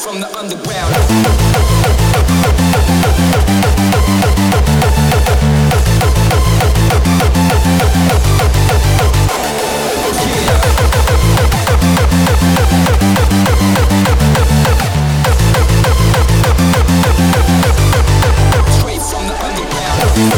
from the underground. Straight from the underground.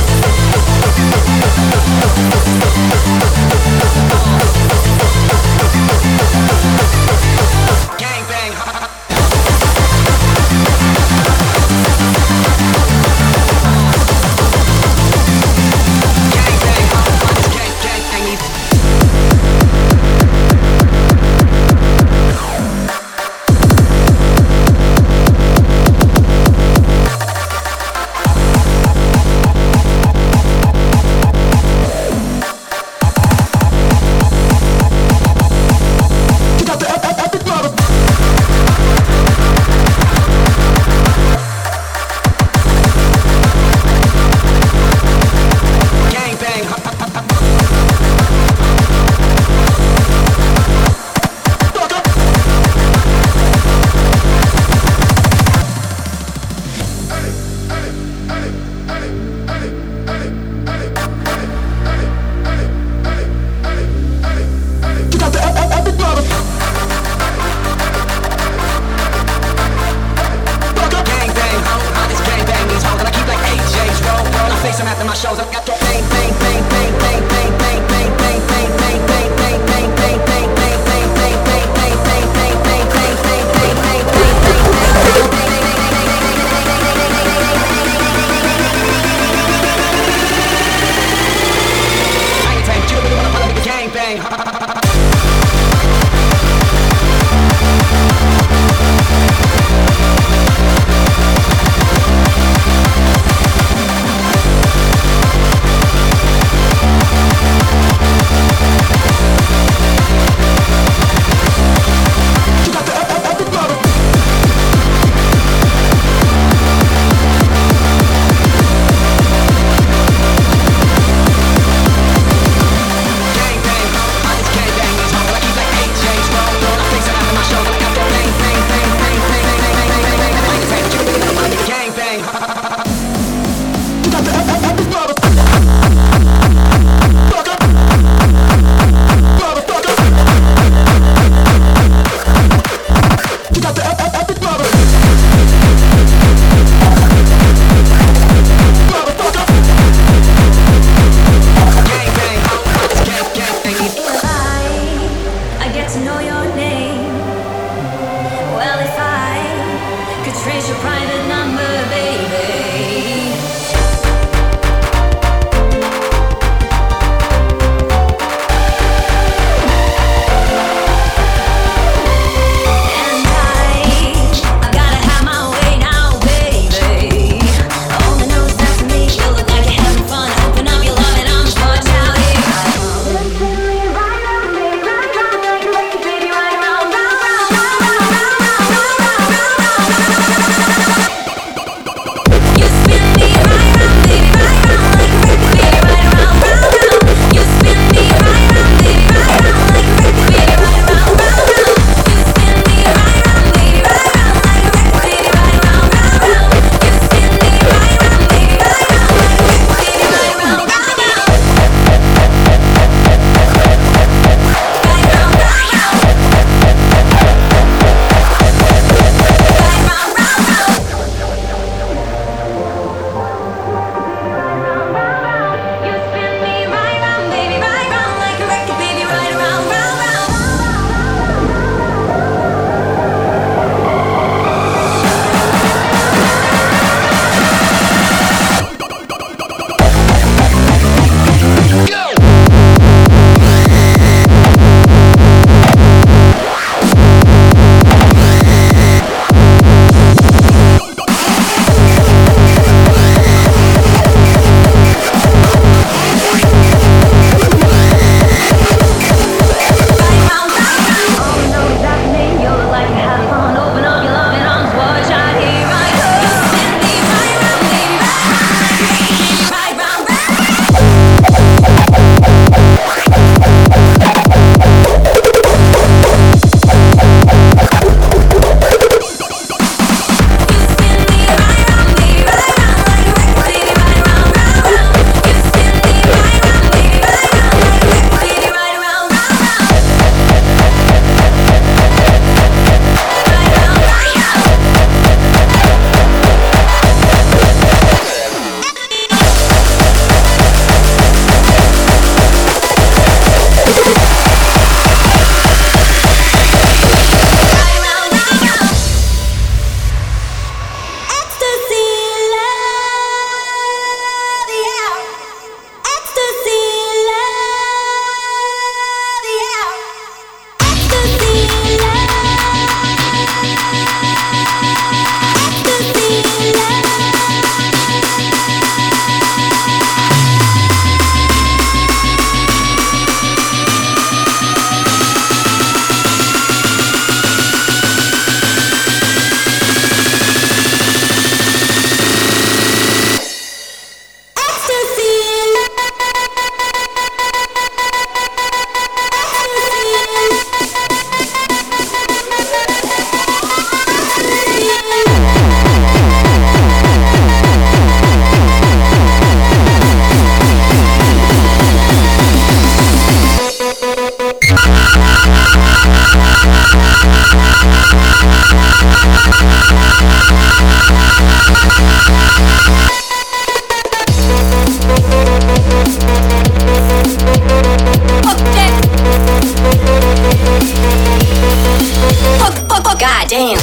Goddamn.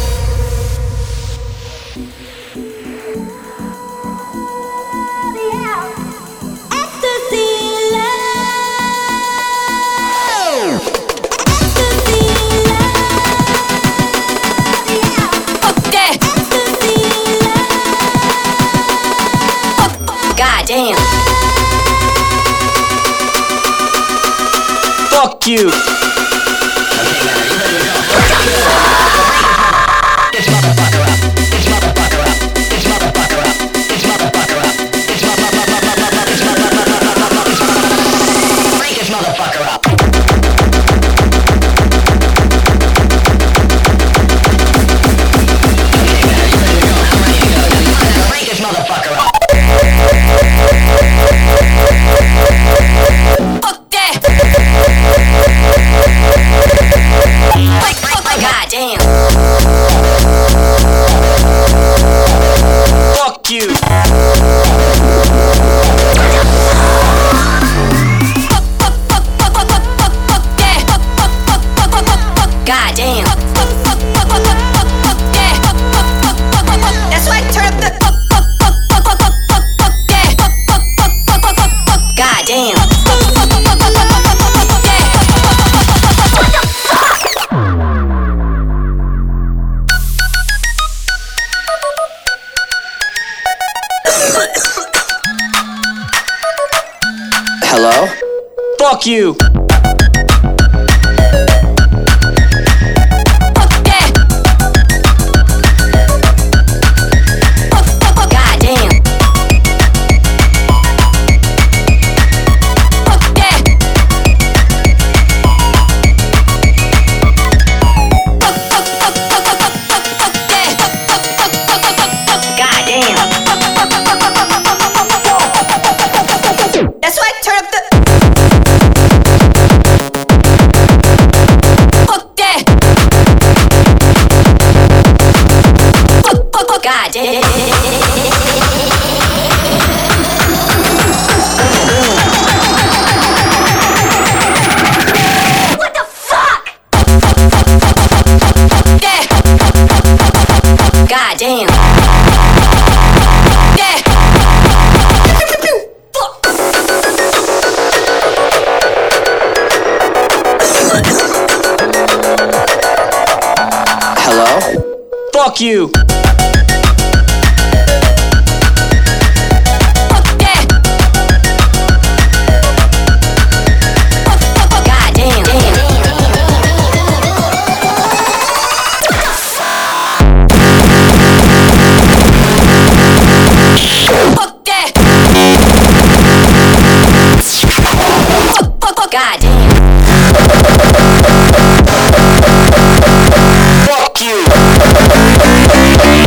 Goddamn. Fuck you. Goddamn. Fuck you. Goddamn. That's why I turn up the. Goddamn. Hello? Fuck you. That's why I turn up the. Fuck that. Goddamn. What the fuck? Yeah. Goddamn. Yeah. Hello? Fuck you. Fuck you.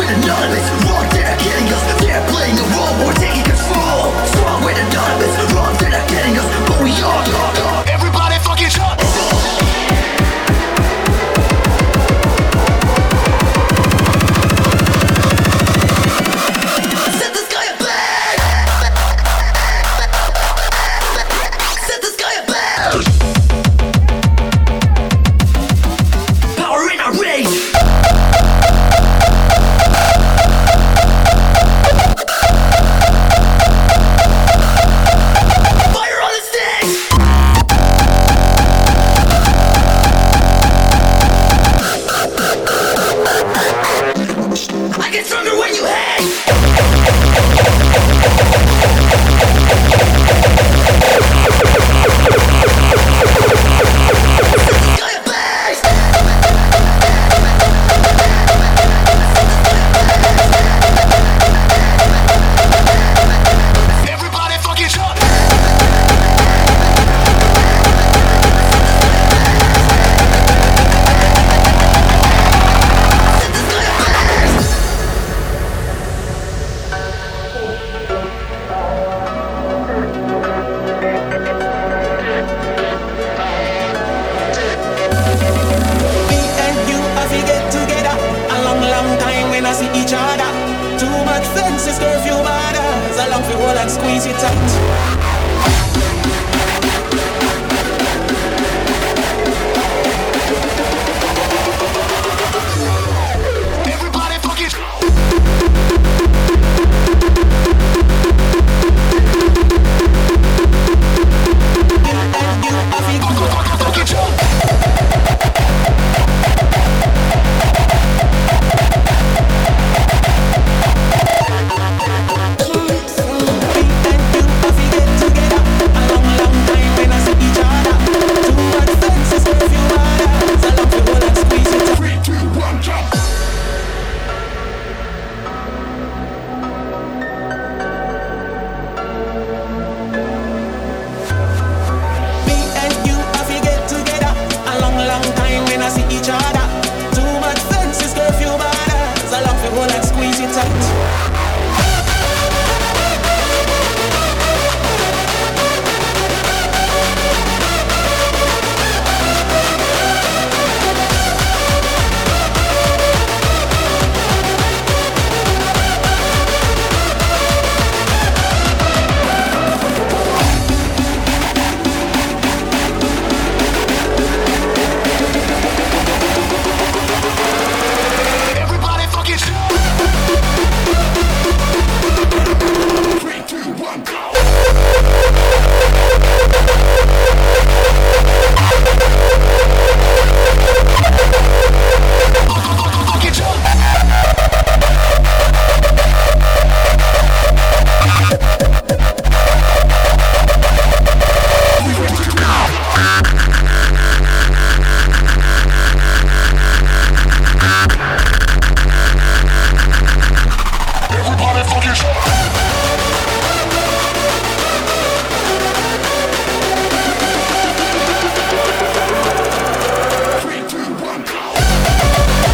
with anonymous. Wrong, they're not getting us. They're playing a role, we're taking control. Strong with anonymous. Wrong, they're not getting us, but we are. Everybody fucking shut. Set the sky ablaze. Set the sky ablaze. Power in our rage. Fire on the stage. I get stronger when you hang. Sky ablaze. Everybody fucking shut. Set the sky ablaze. Me and you, as we get together, a long, long time when I see each other. Too much sense is curfew borders. A long for hold and squeeze you tight. Everybody fucking shut. And you, as we Fucking shut. and you, as we get together, a long, long time when I see each other. Too much sense is curfew borders. A long for hold and squeeze you tight. 3, 2, 1, jump. Me and you, as we get together, a long, long time when I see each other. Too much sense is curfew borders. A long for hold and squeeze you tight. Everybody fucking shut. 3, 2, 1, go. Fucking shut. Everybody fucking shut. Three, two, one, go.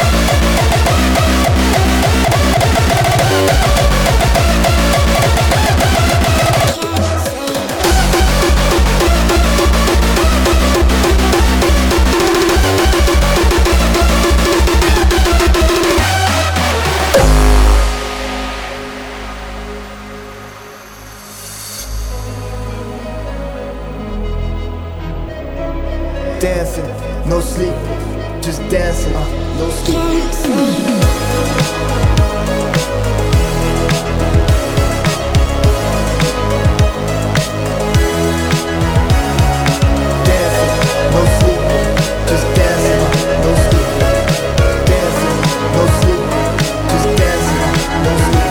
Dancing, no sleep, just dancing, no sleep. Dancing, no sleep, just dancing, no sleep. Dancing, no sleep, just dancing, no sleep.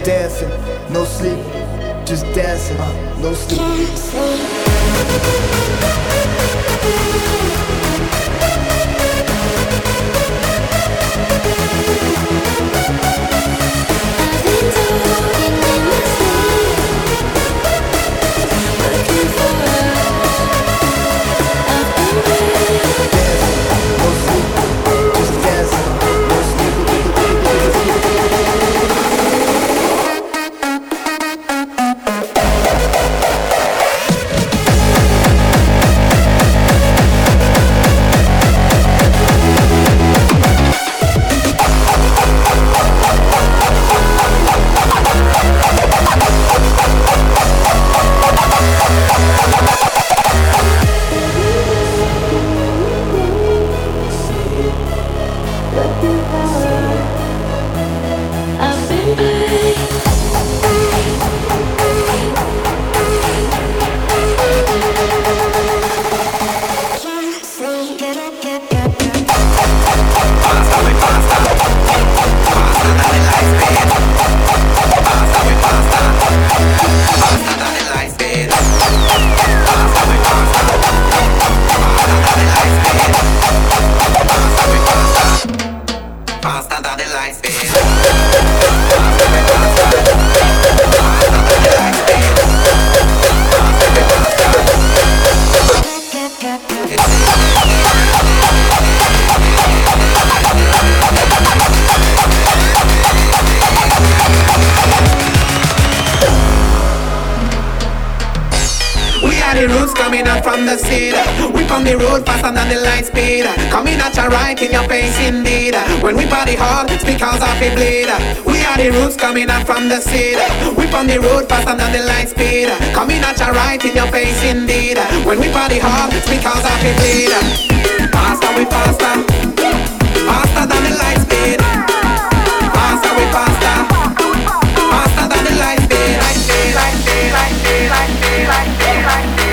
dancing, no sleep, just dancing, no sleep. Coming out from the city, we on the road faster than the light speed. Coming at you right in your face indeed. When we party hard, it's because of a bleed. We are the roots coming out from the city, we on the road faster than the light speed. Coming at you right in your face indeed. When we party hard, it's because of a bleed. Faster we faster, faster than the light speed. Faster we faster, faster than the light speed. Light speed, light speed, light speed, light speed, light speed, light speed.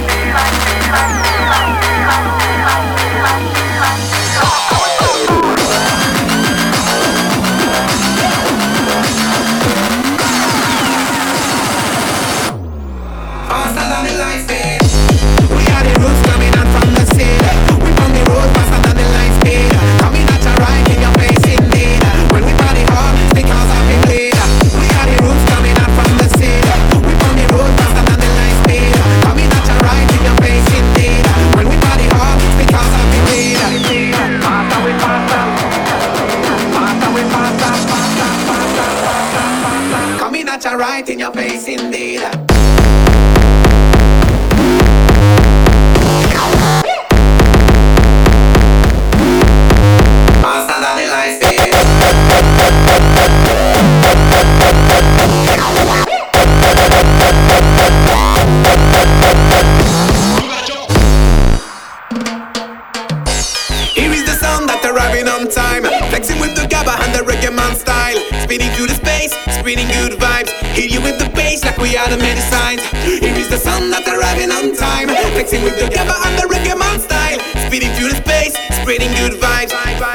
Right in your face indeed. Faster than the light speed. Here is the sound that arriving on time, flexing with the gabba and the reggae man style, speeding through the space, spreading good vibes. Hear you with the bass like we are the medicines. Here is the sun that's arriving on time, flexing with the gabba and the reggae man style, speeding through the space, spreading good vibes.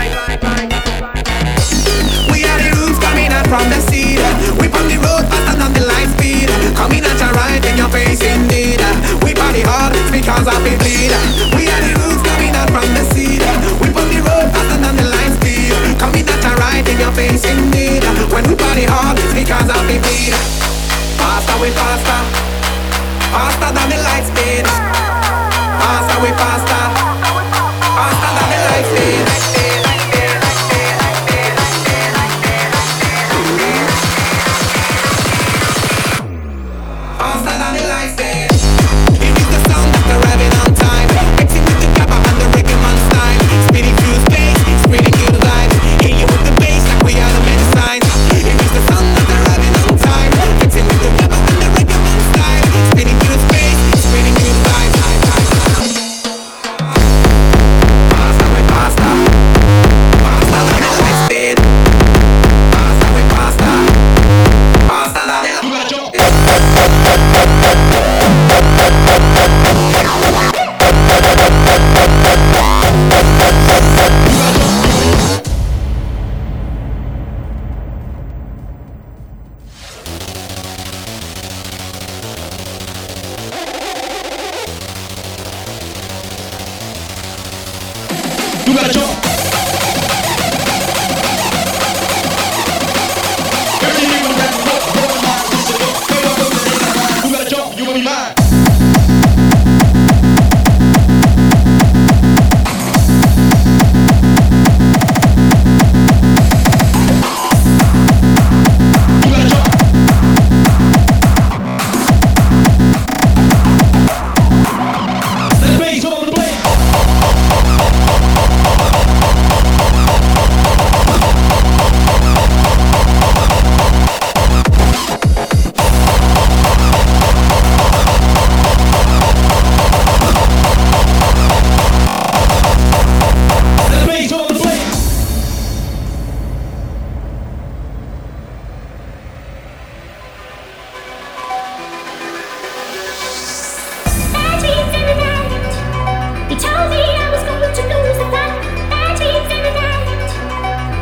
We are the roots coming out from the seed. We on the road faster than the light speed. Coming at you right in your face indeed. We party hard, it's because of the bleed. We are the roots coming out from the seed. We on the road faster than the light speed. Coming at you right in your face indeed. When we party hard, it's because of the bleed. Faster we faster, faster than the light speed. Faster we faster, faster than the light speed. Faster than the light speed. Here is the sound that's arriving on time, mixing with the gabba and the reggae man style, speeding through space, spreading good vibes. Hear you with the bass like we are the medicines. Here is the sound that's arriving on time, mixing with the gabba and the reggae man style, speeding through space, spreading good vibes.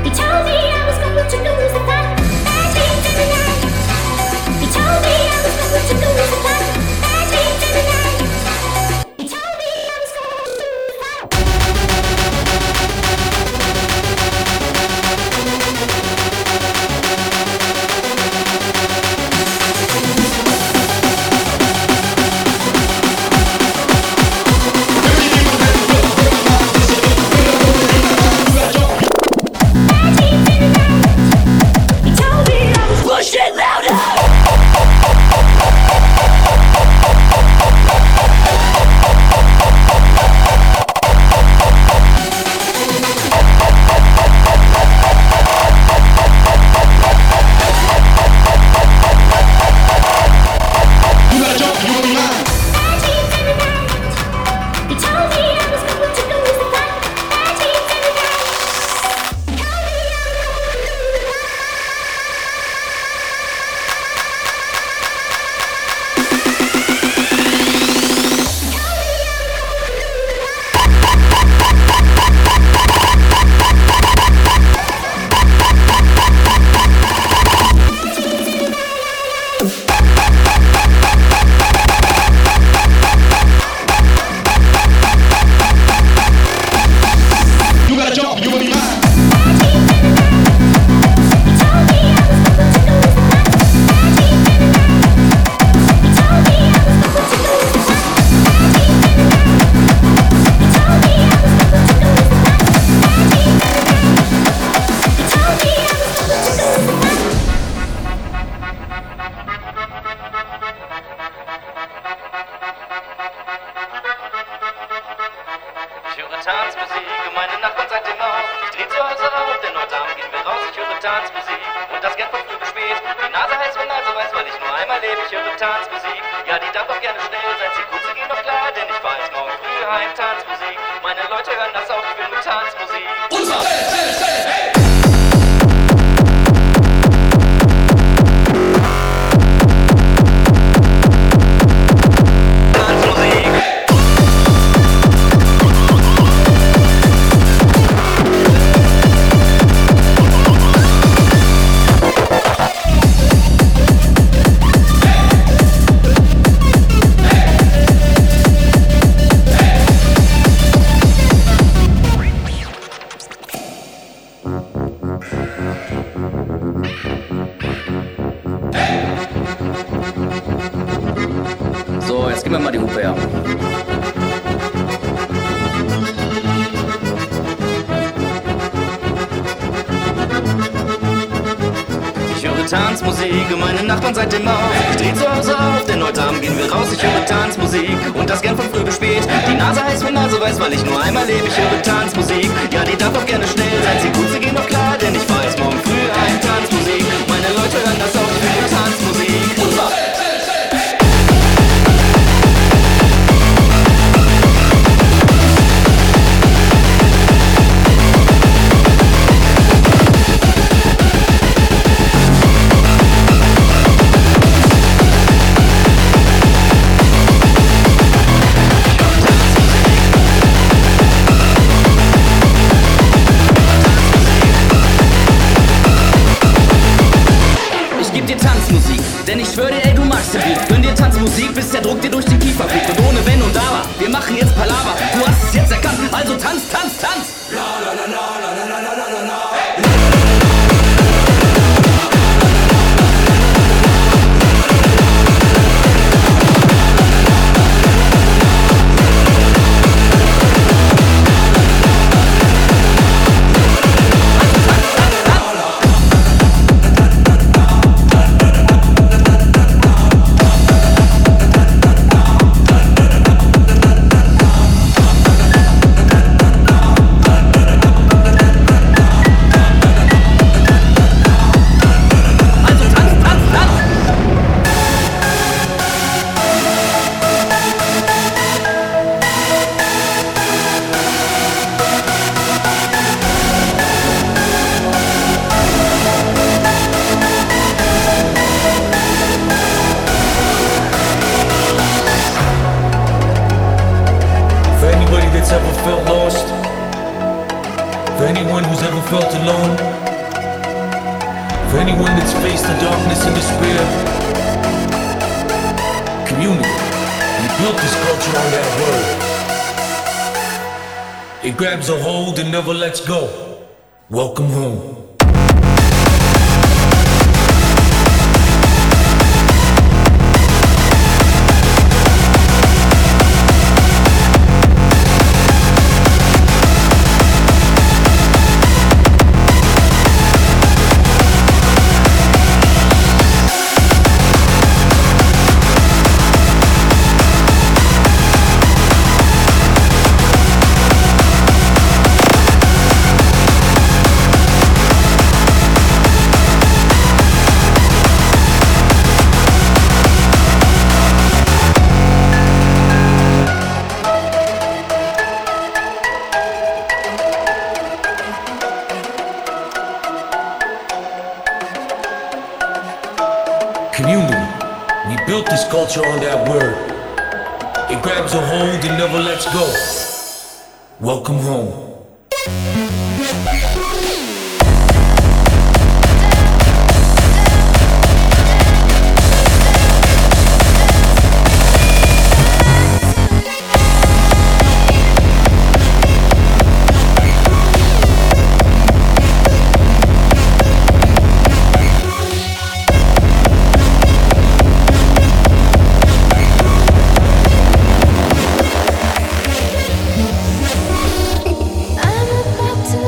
Tanzmusik, meine Nachbarn seit dem Mauer. Ich dreh zu Hause auf, denn heute Abend gehen wir raus. Ich höre Tanzmusik und das gern von früh bis spät. Die Nase heiß wie Nase weiß, weil ich nur einmal lebe. Ich höre Tanzmusik, ja die darf auch gerne schnell sein. Sie gut, sie gehen doch klar, denn ich weiß morgen früh ein Tanzmusik. Meine Leute hören das auch, ich will Tanzmusik. Denn ich schwör dir, ey, du magst den Beat. Gönn dir Tanzmusik, bis der Druck dir durch den Kiefer fliegt. Und ohne Wenn und Aber, wir machen jetzt Palaver. Du hast es jetzt erkannt, also tanz, tanz, tanz. La la la la la la la la la la. home. For anyone that's faced the darkness and despair, community. We built this culture on that word. It grabs a hold and never lets go. Welcome home. Community. We built this culture on that word. It grabs a hold and never lets go. Welcome home. I'm about to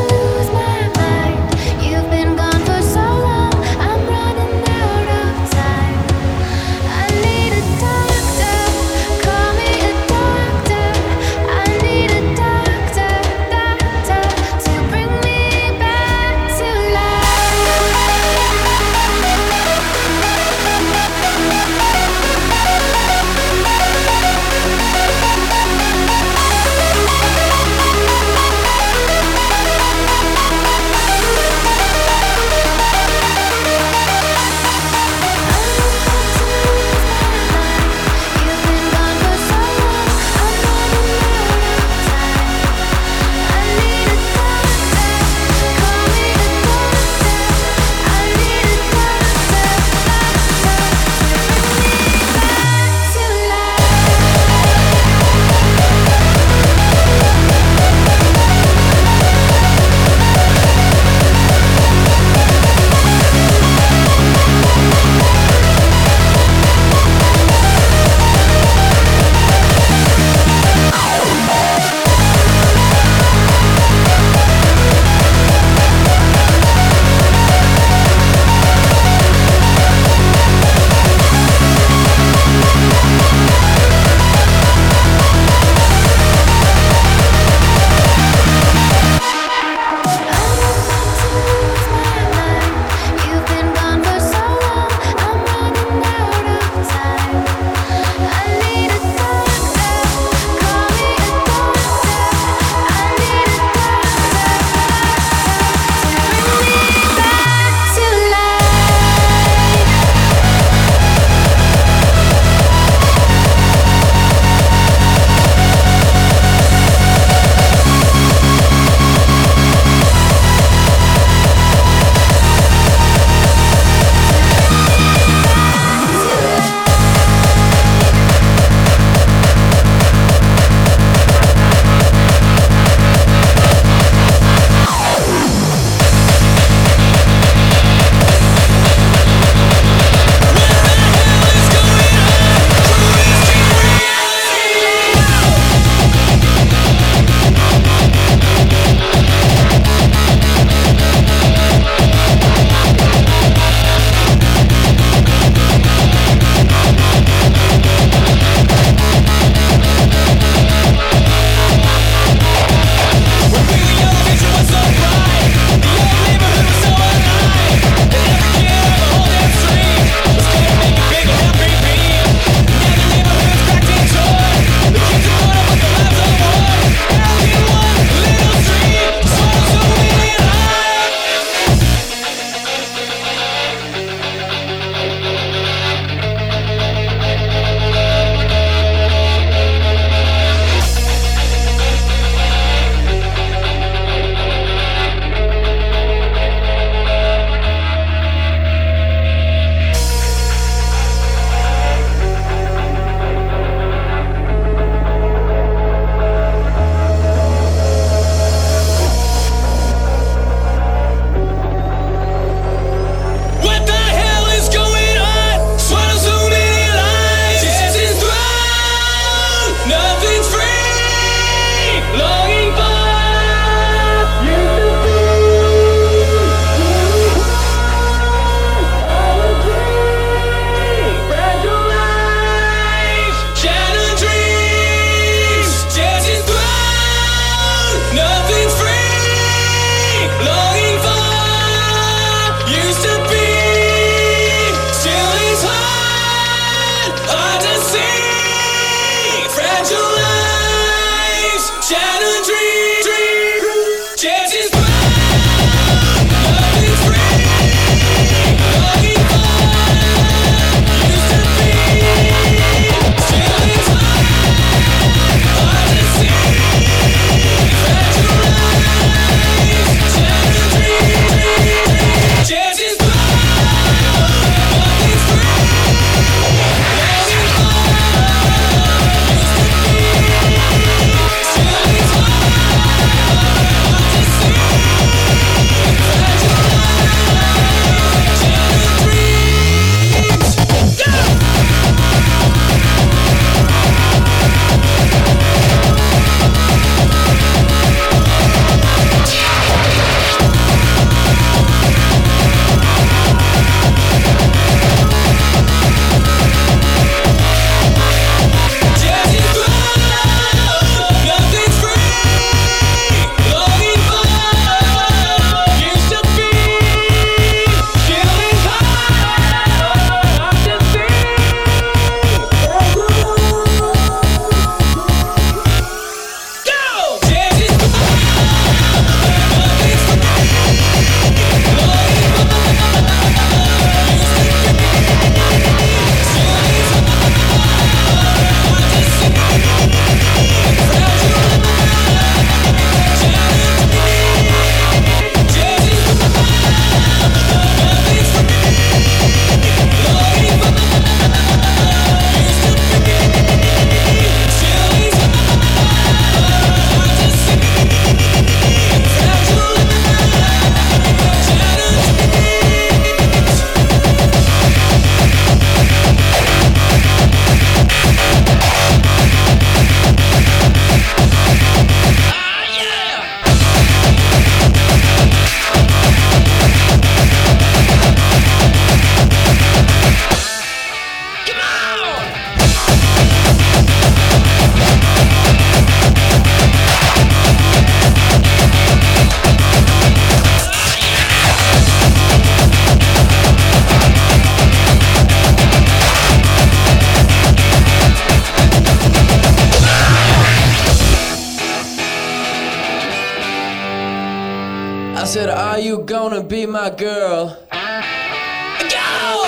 said, are you gonna be my girl? Go!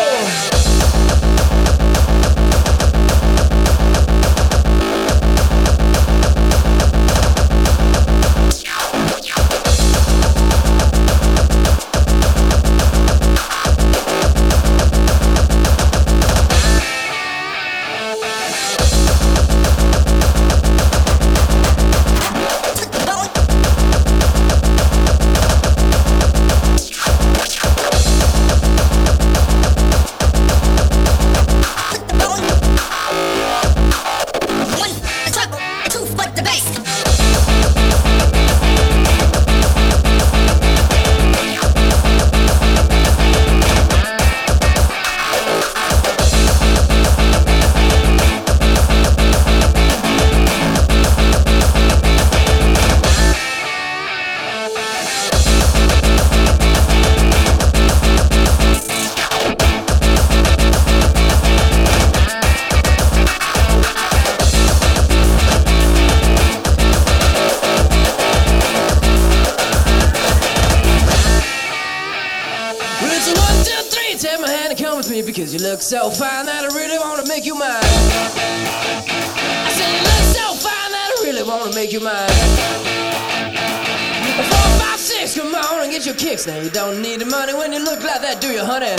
Because you look so fine that I really wanna make you mine. I said you look so fine that I really wanna make you mine. 4, 5, 6, come on and get your kicks. Now you don't need the money when you look like that, do you, honey?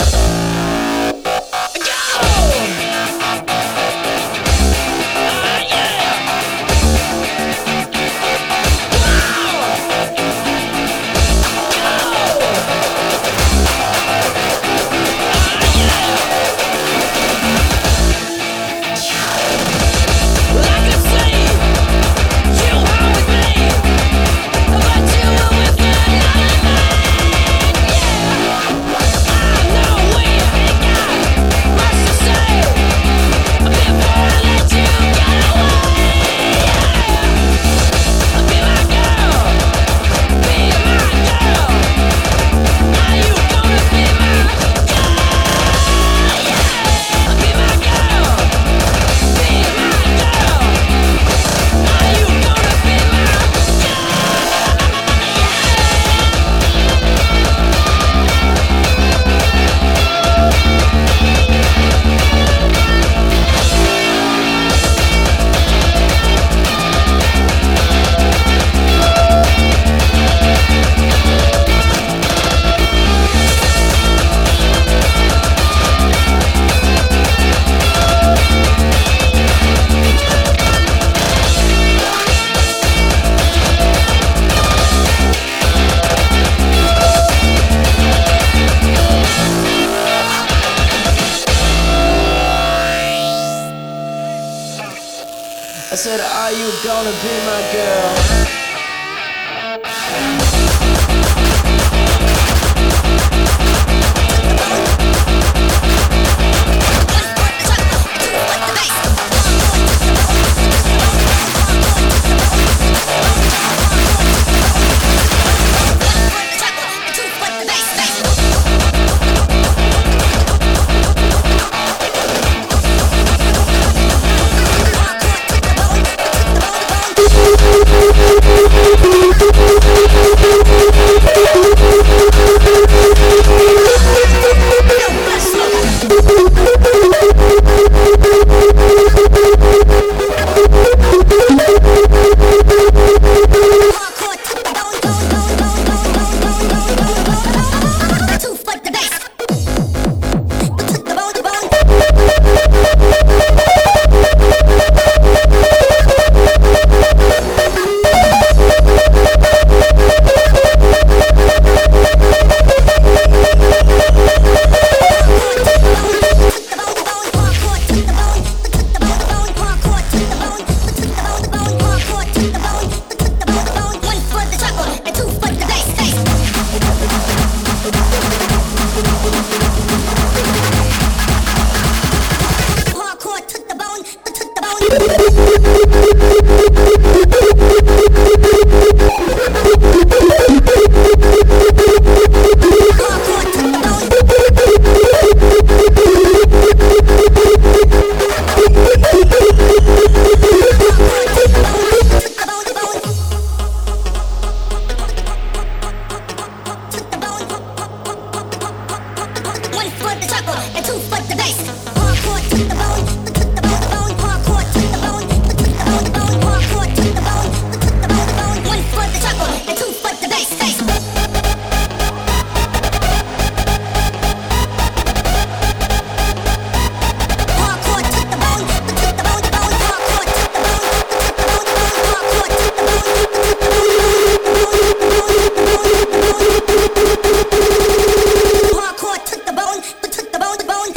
I said, are you gonna be my girl? We'll be right back. for the treble, and two for the bass. Hardcore to the bone, to the bone, hardcore to the bone, to the bone, hardcore to the bone, to the bone. One for the treble, and two for the bass. Hardcore to the bone, to the bone, hardcore to the bone, to the bone, hardcore to the bone, hardcore to the bone, to the bone, the bone.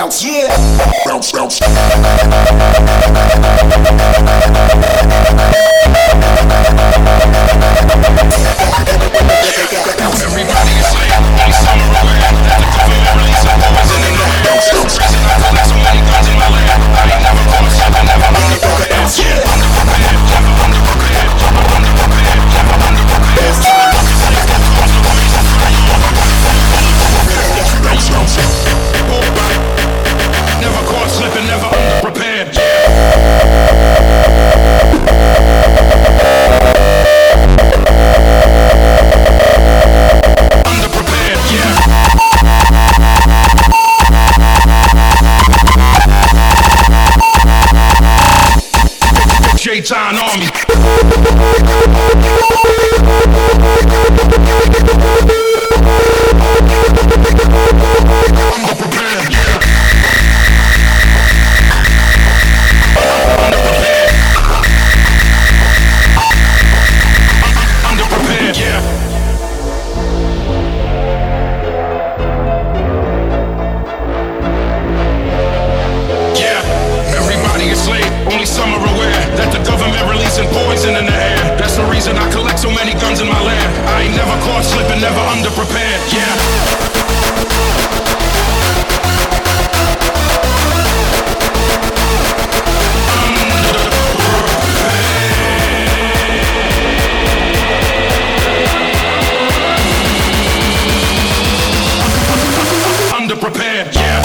bounce, yeah. Bounce, bounce. Everybody is late, only some are aware that the government releasing poison in the air. That's the reason I collect so many guns in my lab. I ain't never caught slipping, never underprepared. Yeah, underprepared, never underprepared, never underprepared, never underprepared. Never caught slipping, never underprepared. Underprepared, yeah. J-Town Army. Underprepared, yeah. Underprepared, yeah. Yeah, everybody is late, only some are aware that the government releasing poison in the air. That's the reason I collect so many guns in my lab. I ain't never caught slipping, never underprepared, yeah. Underprepared, yeah.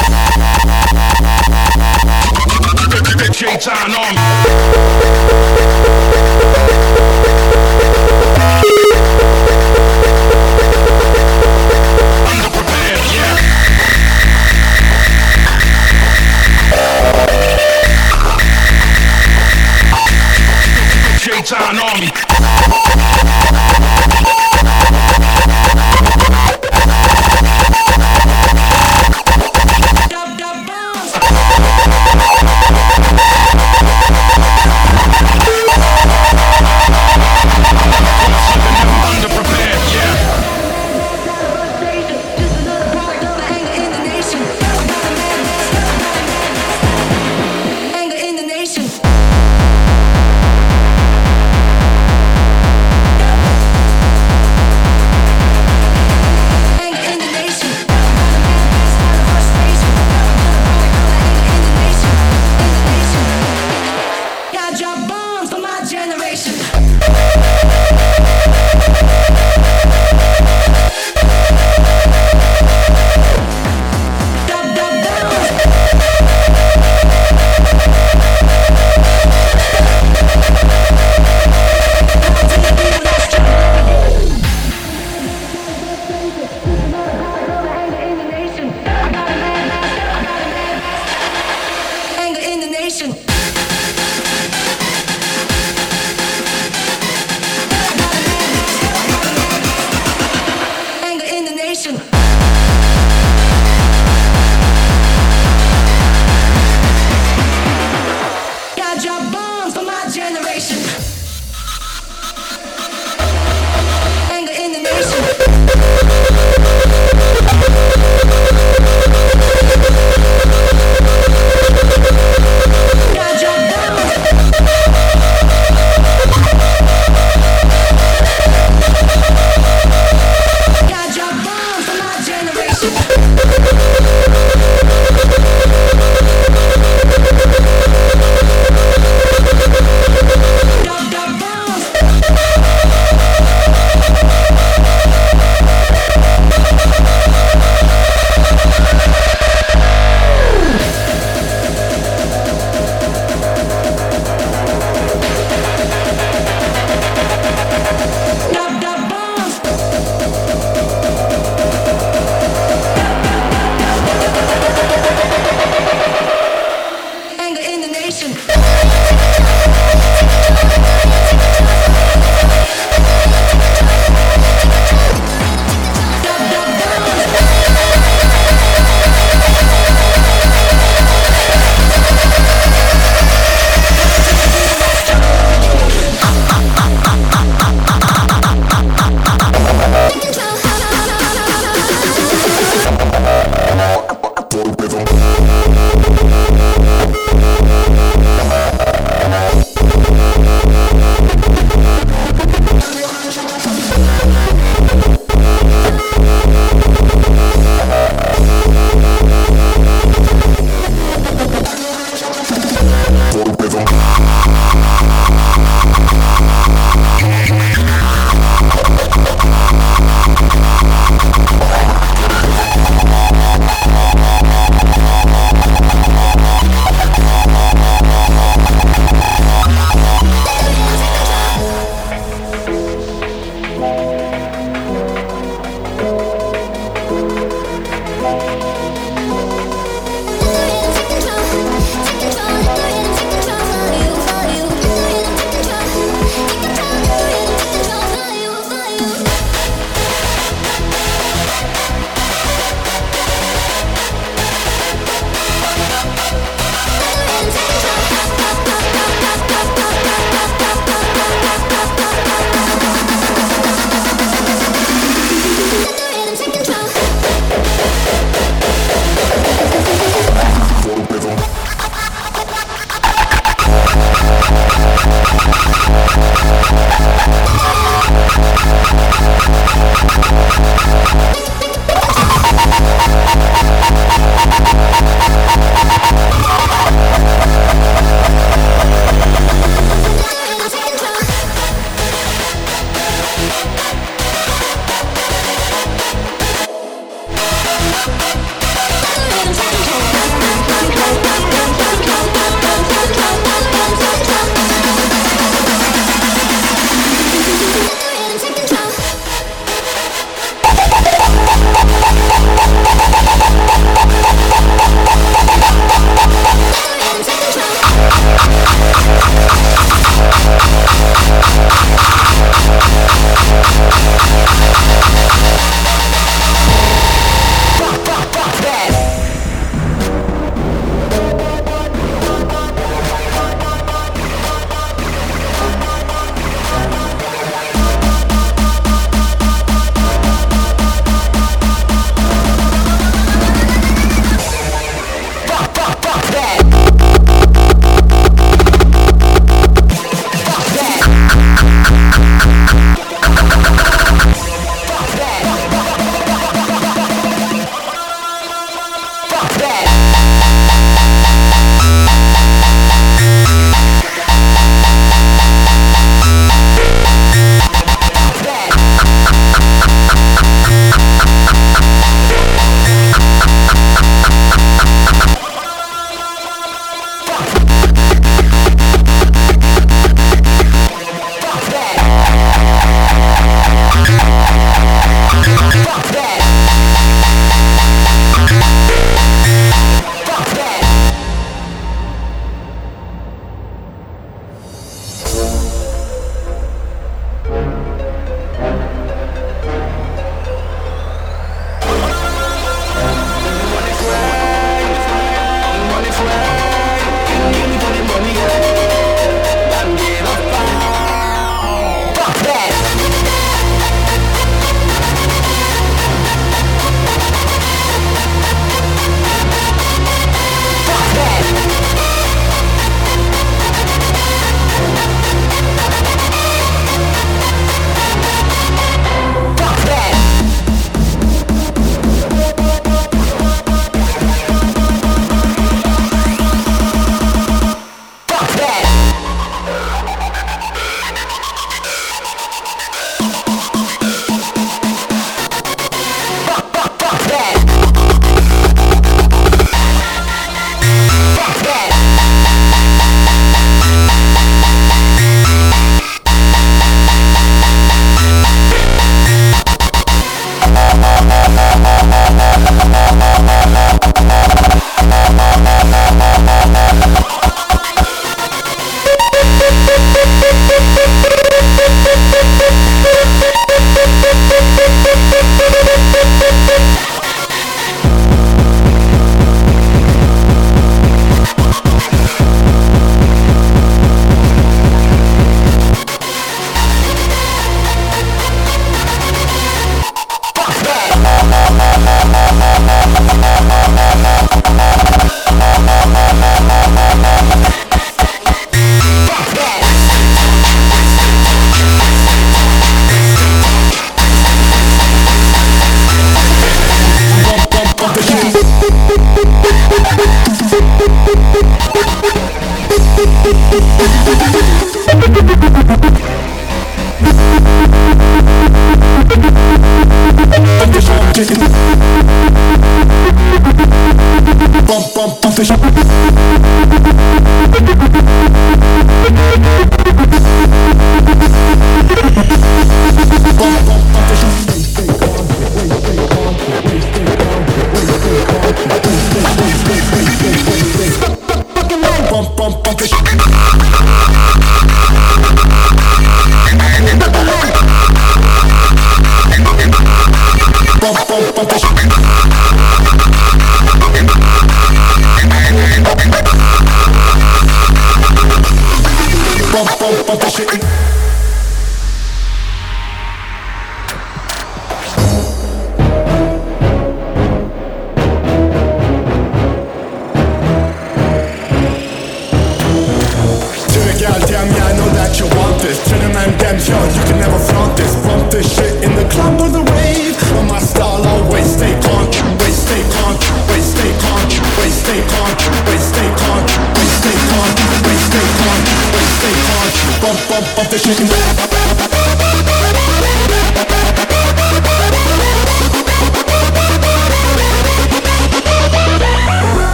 J-Town on me. Underprepared, yeah. J-Town on me.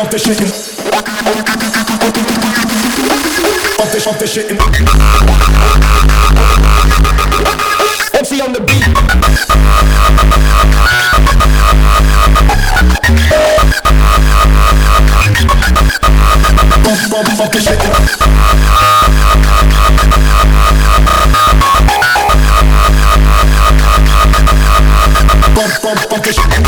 pump the shit in. Pump the shit in. MC on the beat. Pump the shit in. Pump the shit in.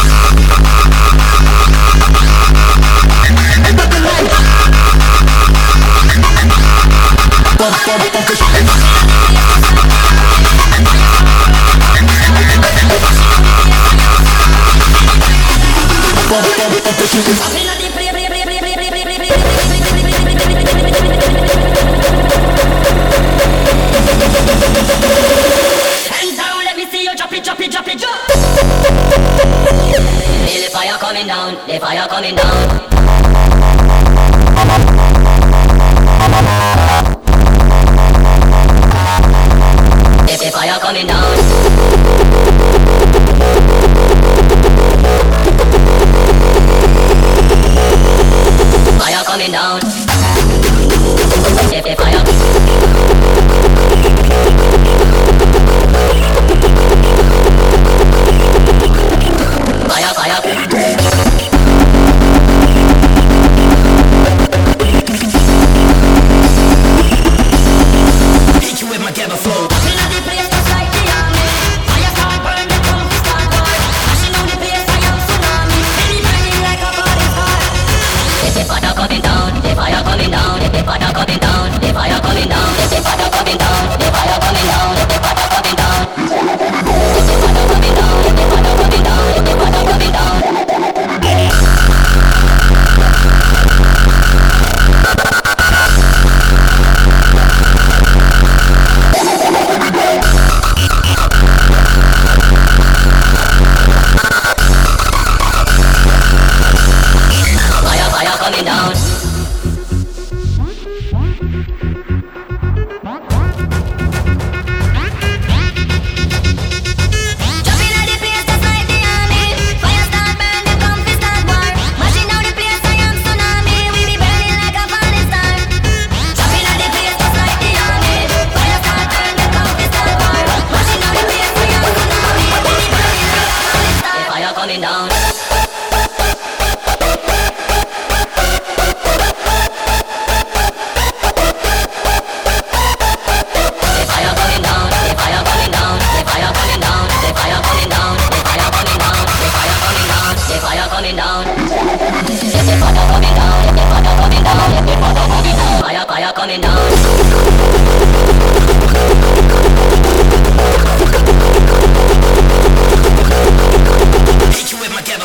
Hands down, let me see you drop it, drop it, drop it, drop. Feel the fire coming down, the fire coming down. The fire coming down. Fire coming down. The fire. Fire, fire. Hit you with my ghetto flow. The fire coming down, the fire coming down, the fire coming down, the fire coming down, the fire coming down, the fire coming down, the fire coming down, the fire coming down, the fire coming down, the fire coming down. Fire coming down. Jumping at the place just like the army. Fire start burn, them come fi start war. Mashing down the place, I am tsunami. We be burning like a falling star. Jumping at the place just like the army. Fire start burn, them come fi start war. Mashing down the place, I am tsunami. We be burning like a falling star. The fire coming down. Coming down, fire coming down. Hit you with my ghetto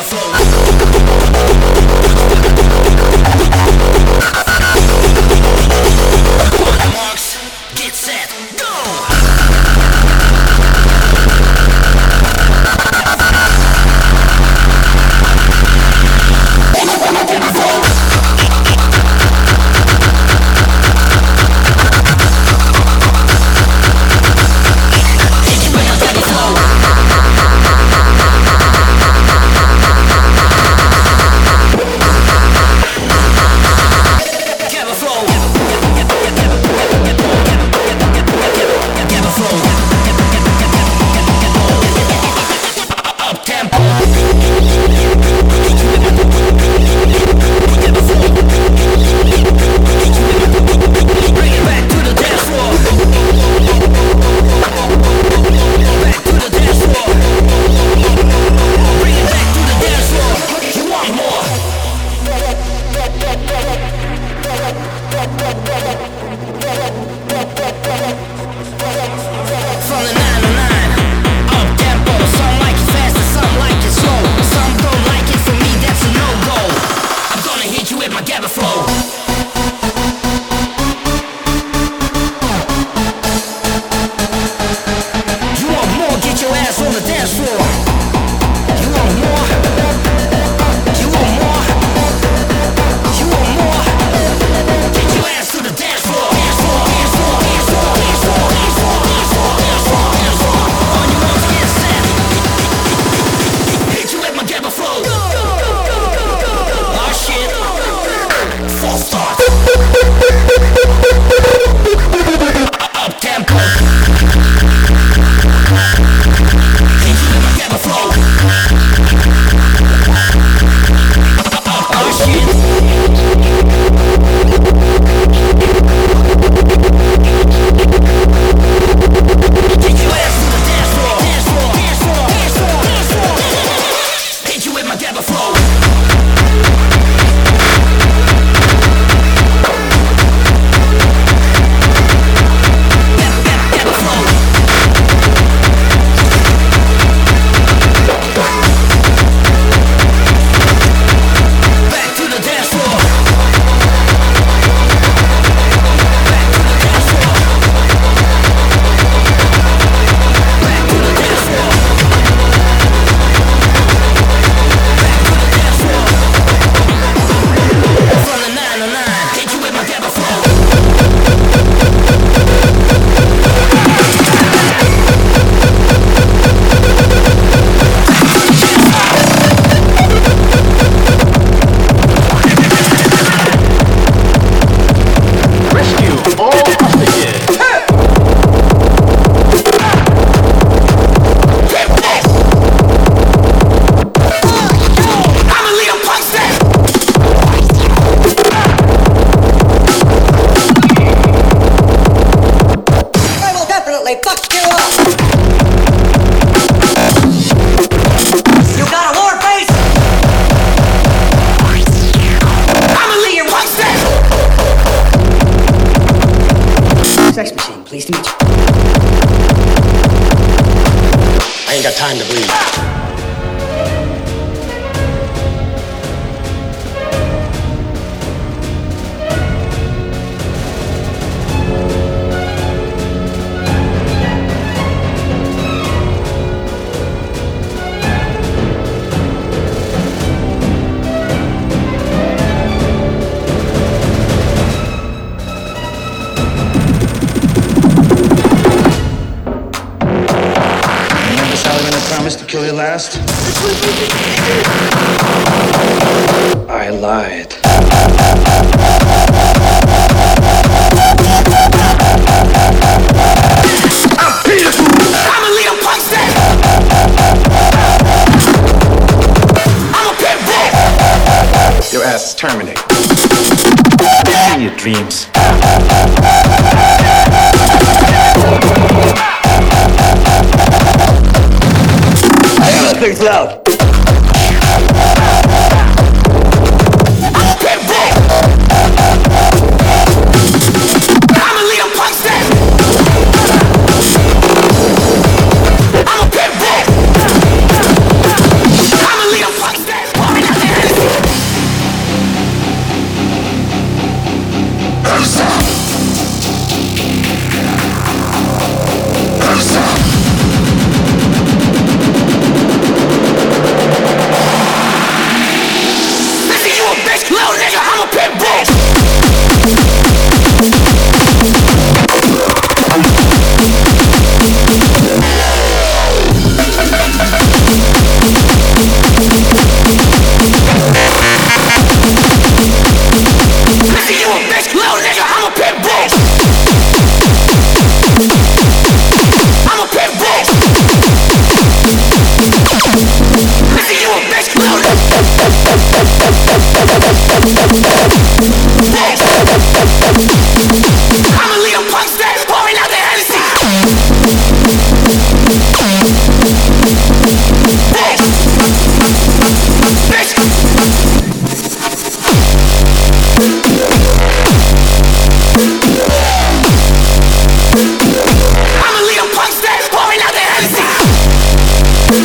past? I lied. I'm Peter. I'm a Leo Punkster. I'm a pit bull. Your ass is terminated. In your dreams. I gotta think loud. I'm a pit bull. I'm a Leo Punkster. I'm a pit bull. I'm a Leo Punkster. Pouring out the Hennessy. Listen, you a bitch, little nigga, I'm a pit bull. Listen, you a bitch, little nigga, I'm a pit bull. I'm a pit bull. Listen, you a bitch, little I'm a Leo Punkster, pouring out the Hennessy. I'm a Leo Punkster, pouring out the Hennessy.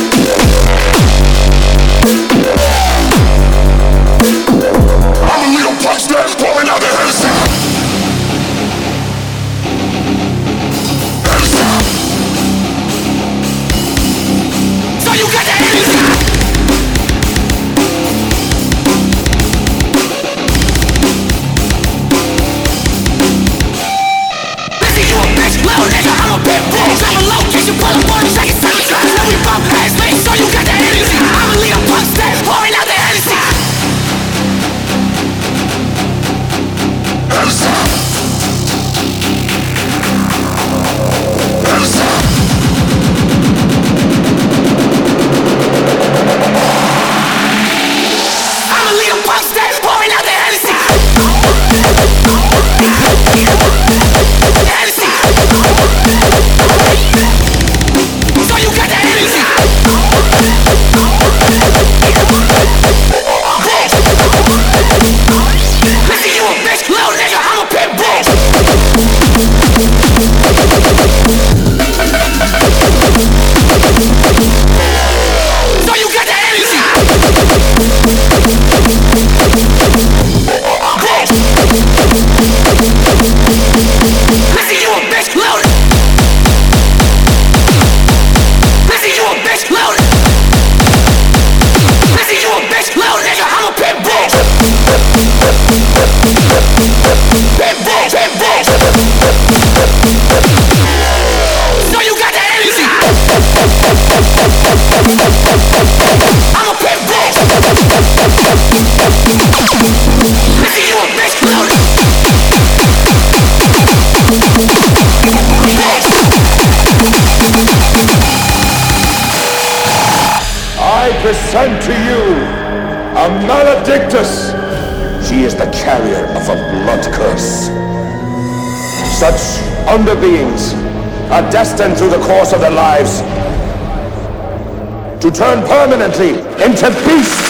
I'm a Leo Punkster, pouring out the Hennessy. So you got the Hennessy. Listen, you a bitch, little nigga, I'm a pit bull. I'm a location, pull up on the second side. Know we bump ass, man, so you got the Hennessy. I'm a Leo Punkster, pouring out the Hennessy. I'm a Leo Punkster, pouring out the Hennessy. Hennessy. So you got the Hennessy. Listen, you a bitch, little nigga, I'm a pit bull. So you got the Hennessy. Listen, you a bitch, little. Listen, you a bitch, little. Listen, you a bitch, little nigga, I'm a pit bull. Pit bull, pit bull. So you got the Hennessy. I'm a pit bull. Listen, you a bitch, little. I present to you a Maledictus. She is the carrier of a blood curse. Such underbeings are destined through the course of their lives to turn permanently into beasts.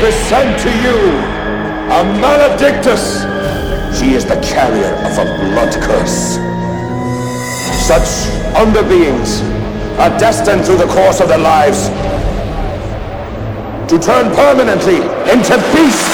present to you a Maledictus. She is the carrier of a blood curse. Such underbeings are destined through the course of their lives to turn permanently into beasts.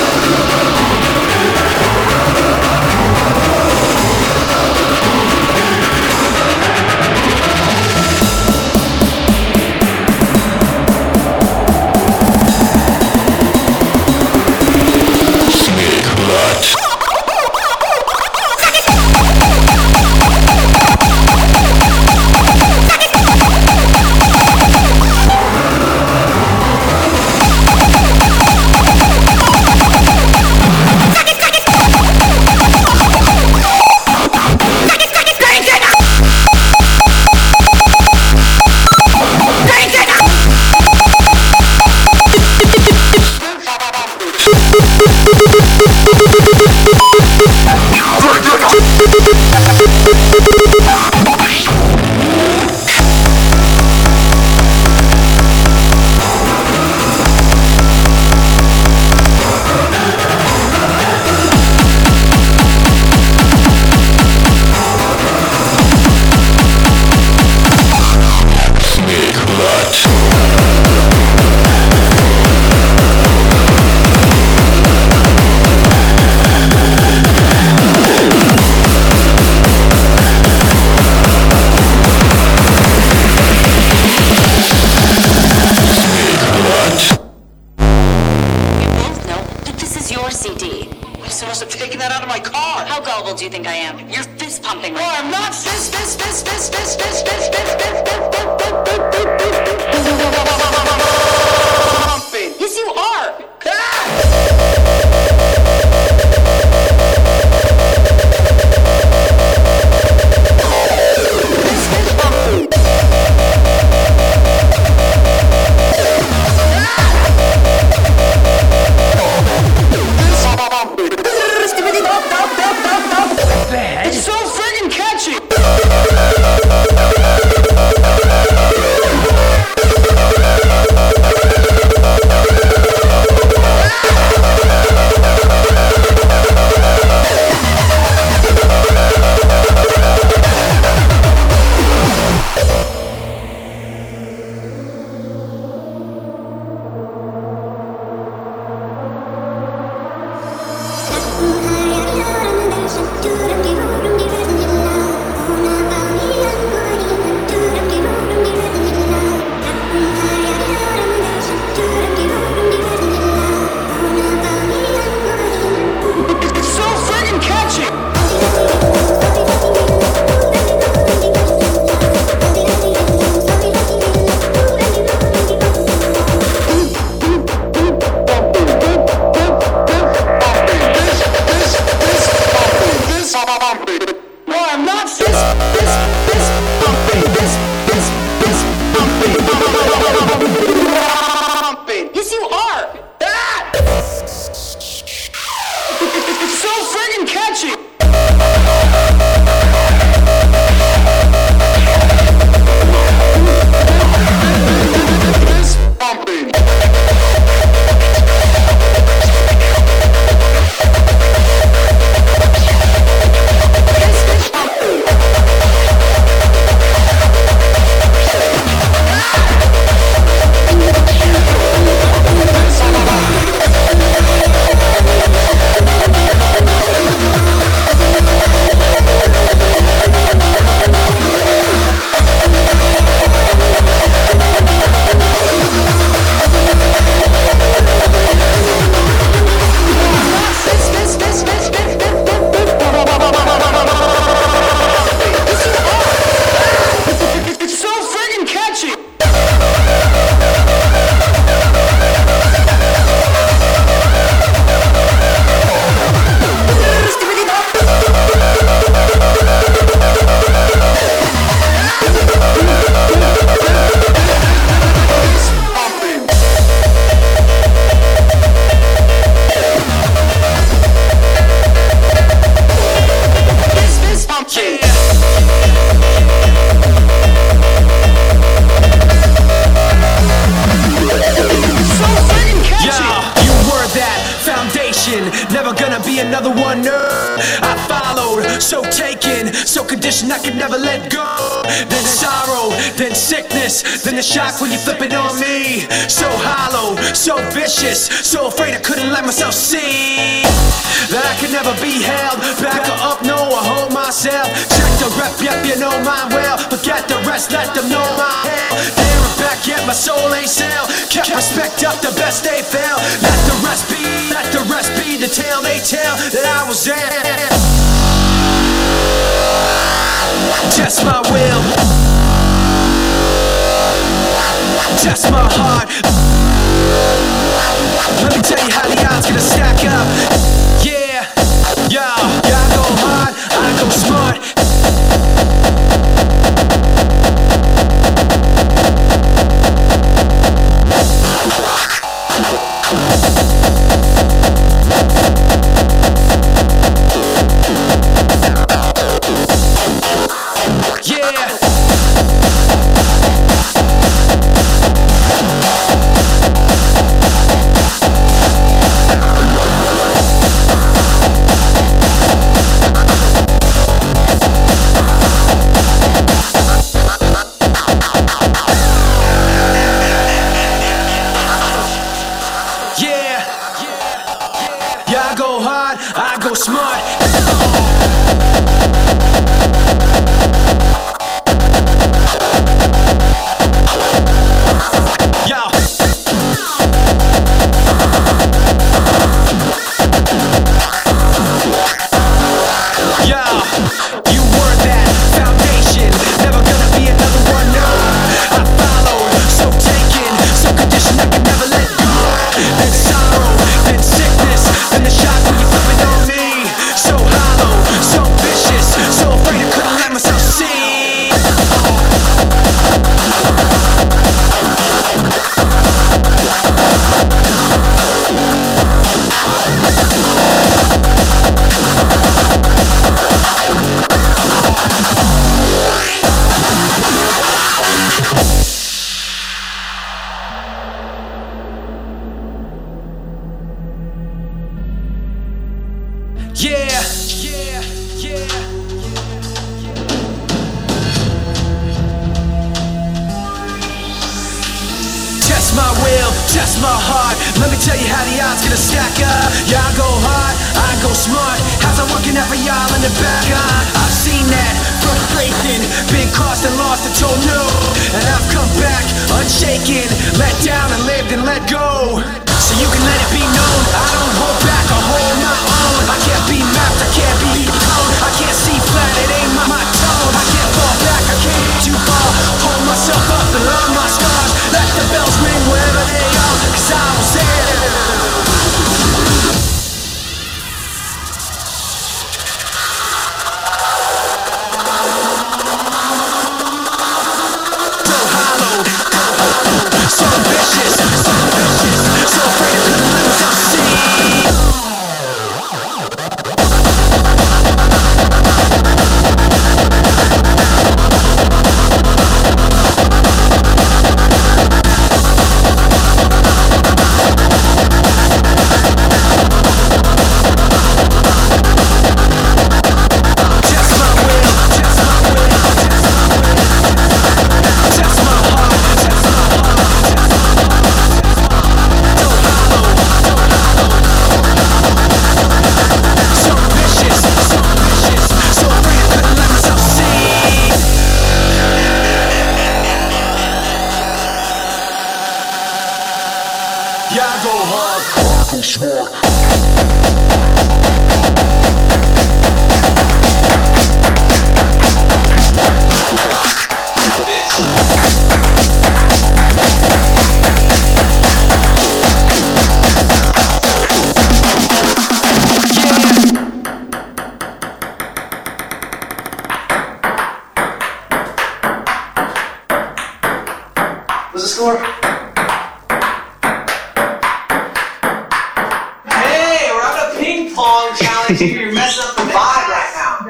Do you think I am? You're fist pumping right now. I'm not fist. Yes, you are. It's so friggin' catchy! gonna be another one. I followed, so taken, so conditioned I could never let go. Then sorrow, then sickness, then the shock when you flip it on me. So hollow, so vicious, so afraid I couldn't let myself see that I could never be held back or up, no, I hold myself. Check the rep, yep, you know mine well. Forget the rest, let them know my hell. There and back, yet my soul ain't sell. Kept respect up, the best they fell. Let the rest be the tale they tell that I was there. Just my will, just my heart. Let me tell you how the odds gonna stack up. Yeah, I go hard, I go smart. Just my heart, let me tell you how the odds gonna stack up. Yeah, I go hard, I go smart. How's I working out for y'all in the back? I've seen that frustration, been crossed and lost and told no. And I've come back unshaken, let down and lived and let go. So you can let it be known, I don't hold back, I hold my own. I can't be mapped, I can't be prone. I can't see flat, it ain't my tone. I can't fall back, I can't get too far. Hold myself up and learn my scars. Let the bells ring wherever they are, 'cause I was there. So vicious, so afraid I couldn't let myself see. What's the score? Hey, we're having a ping pong challenge here. You're messing up the vibe right now.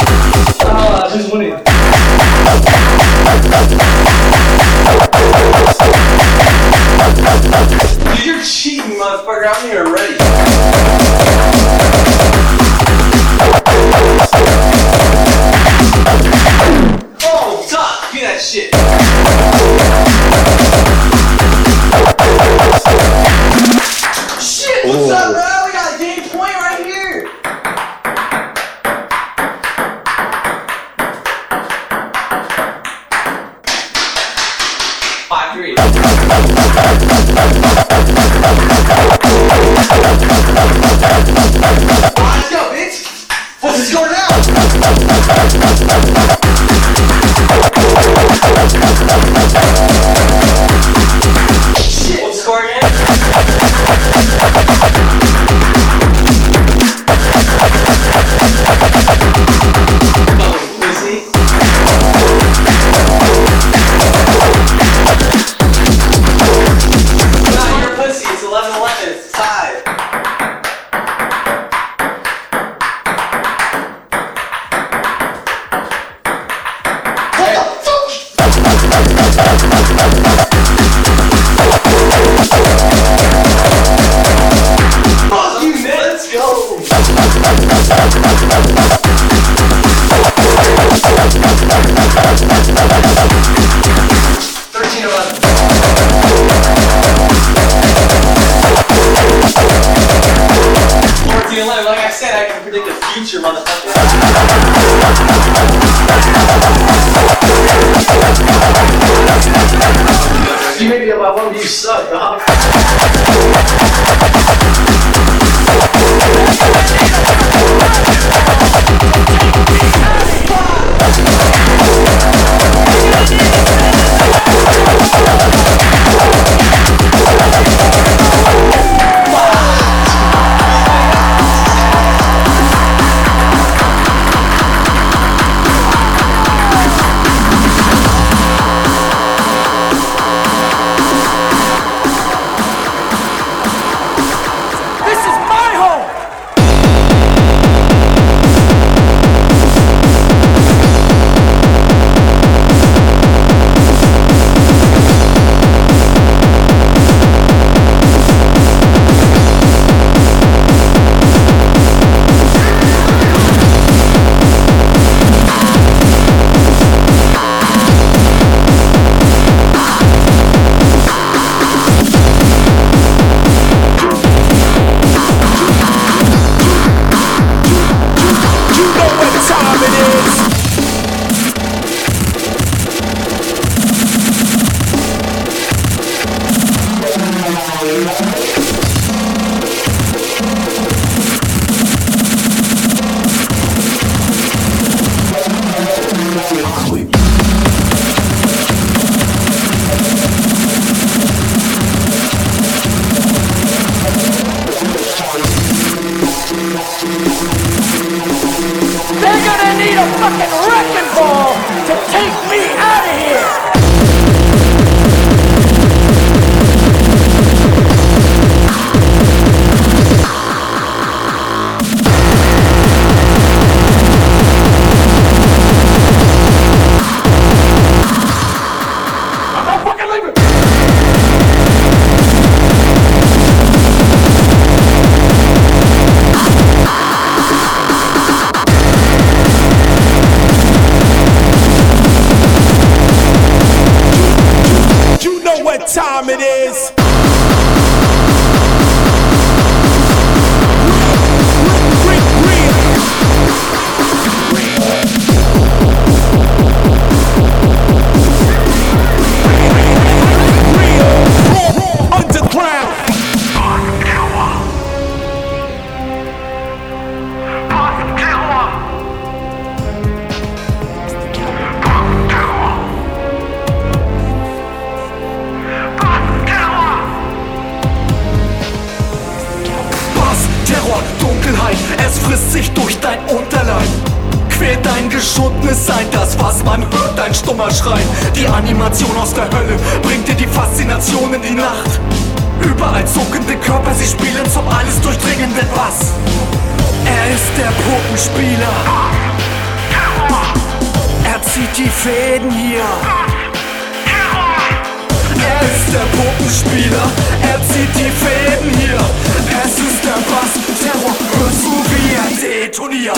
Who's winning? motherfucker, I'm here already. Oh, Doc, do that shit. Shit, what's up, bro? We got a game point right here. Let's go, bitch! What's the score now? Shit! What's the score again? Oh, pussy. Nah, you're a pussy. It's 11-11. It's tied. Fuck you, man. Let's go. Like I said, I can predict the future, motherfucker. You may be about one, you suck, dog. Time it is. Es frisst sich durch dein Unterleib, quält dein geschundenes Sein, das was man hört, dein stummer Schrei. Die Animation aus der Hölle bringt dir die Faszination in die Nacht. Überall zuckende Körper, sie spielen zum alles durchdringenden Bass. Er ist der Puppenspieler, er zieht die Fäden hier. Er ist der Puppenspieler, er zieht die Fäden hier. detoniert.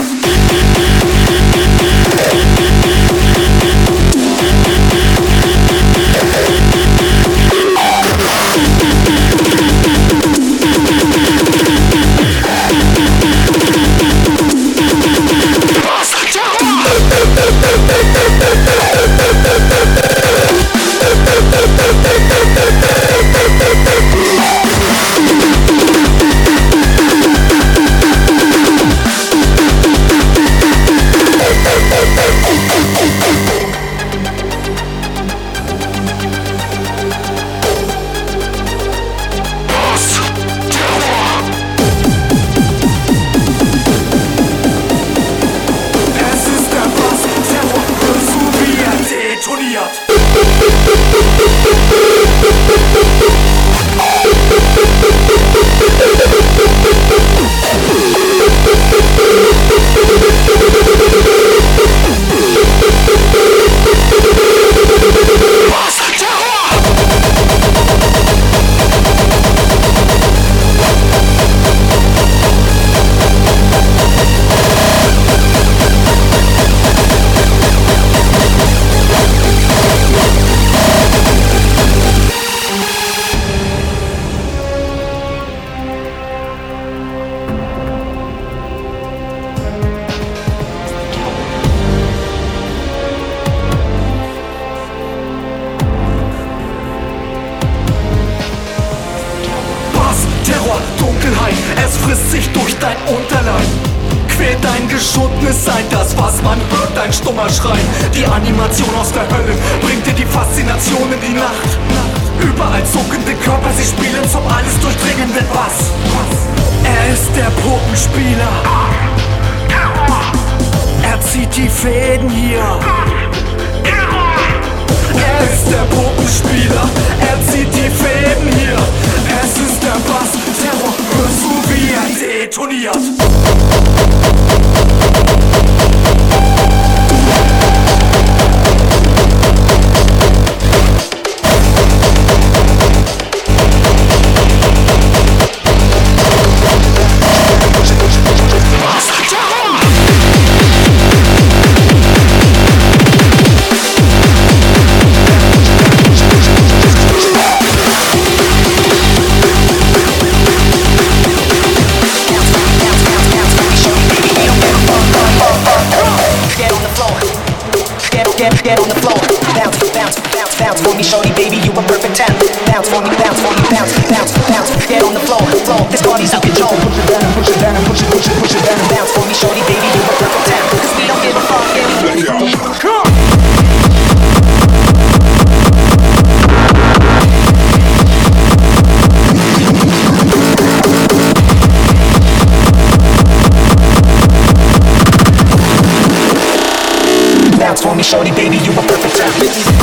Shorty, baby, you a perfect 10.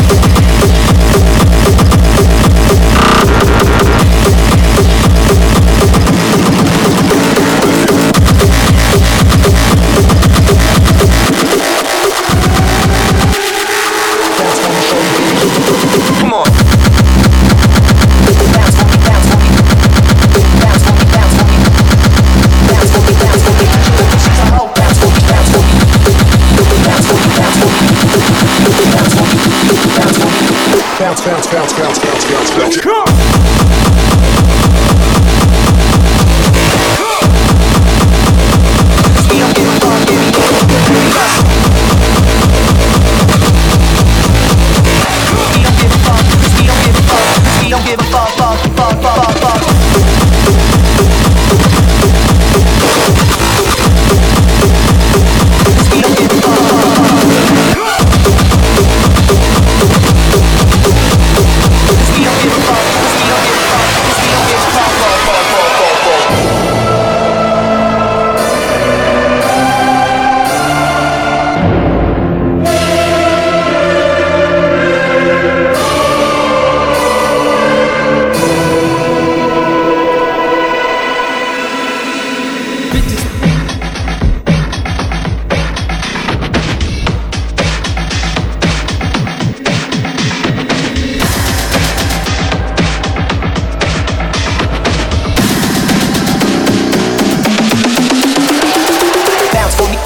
Bounce. Come!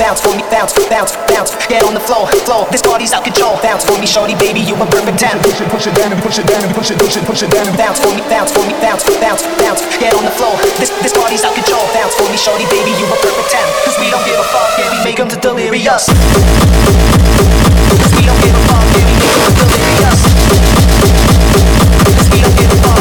bounce for me, bounce, bounce, bounce. Get on the floor, floor. This party's out control. Bounce for me, shorty, baby, you a perfect 10. Push it down and push it down and push it down. Bounce for me, bounce for me, bounce, bounce, bounce. Get on the floor. This party's out control. Bounce for me, shorty, baby, you a perfect 10. Cause we don't give a fuck, yeah, we make them to delirious. Cause we don't give a fuck, yeah, we make them to delirious. Cause we don't give a fuck.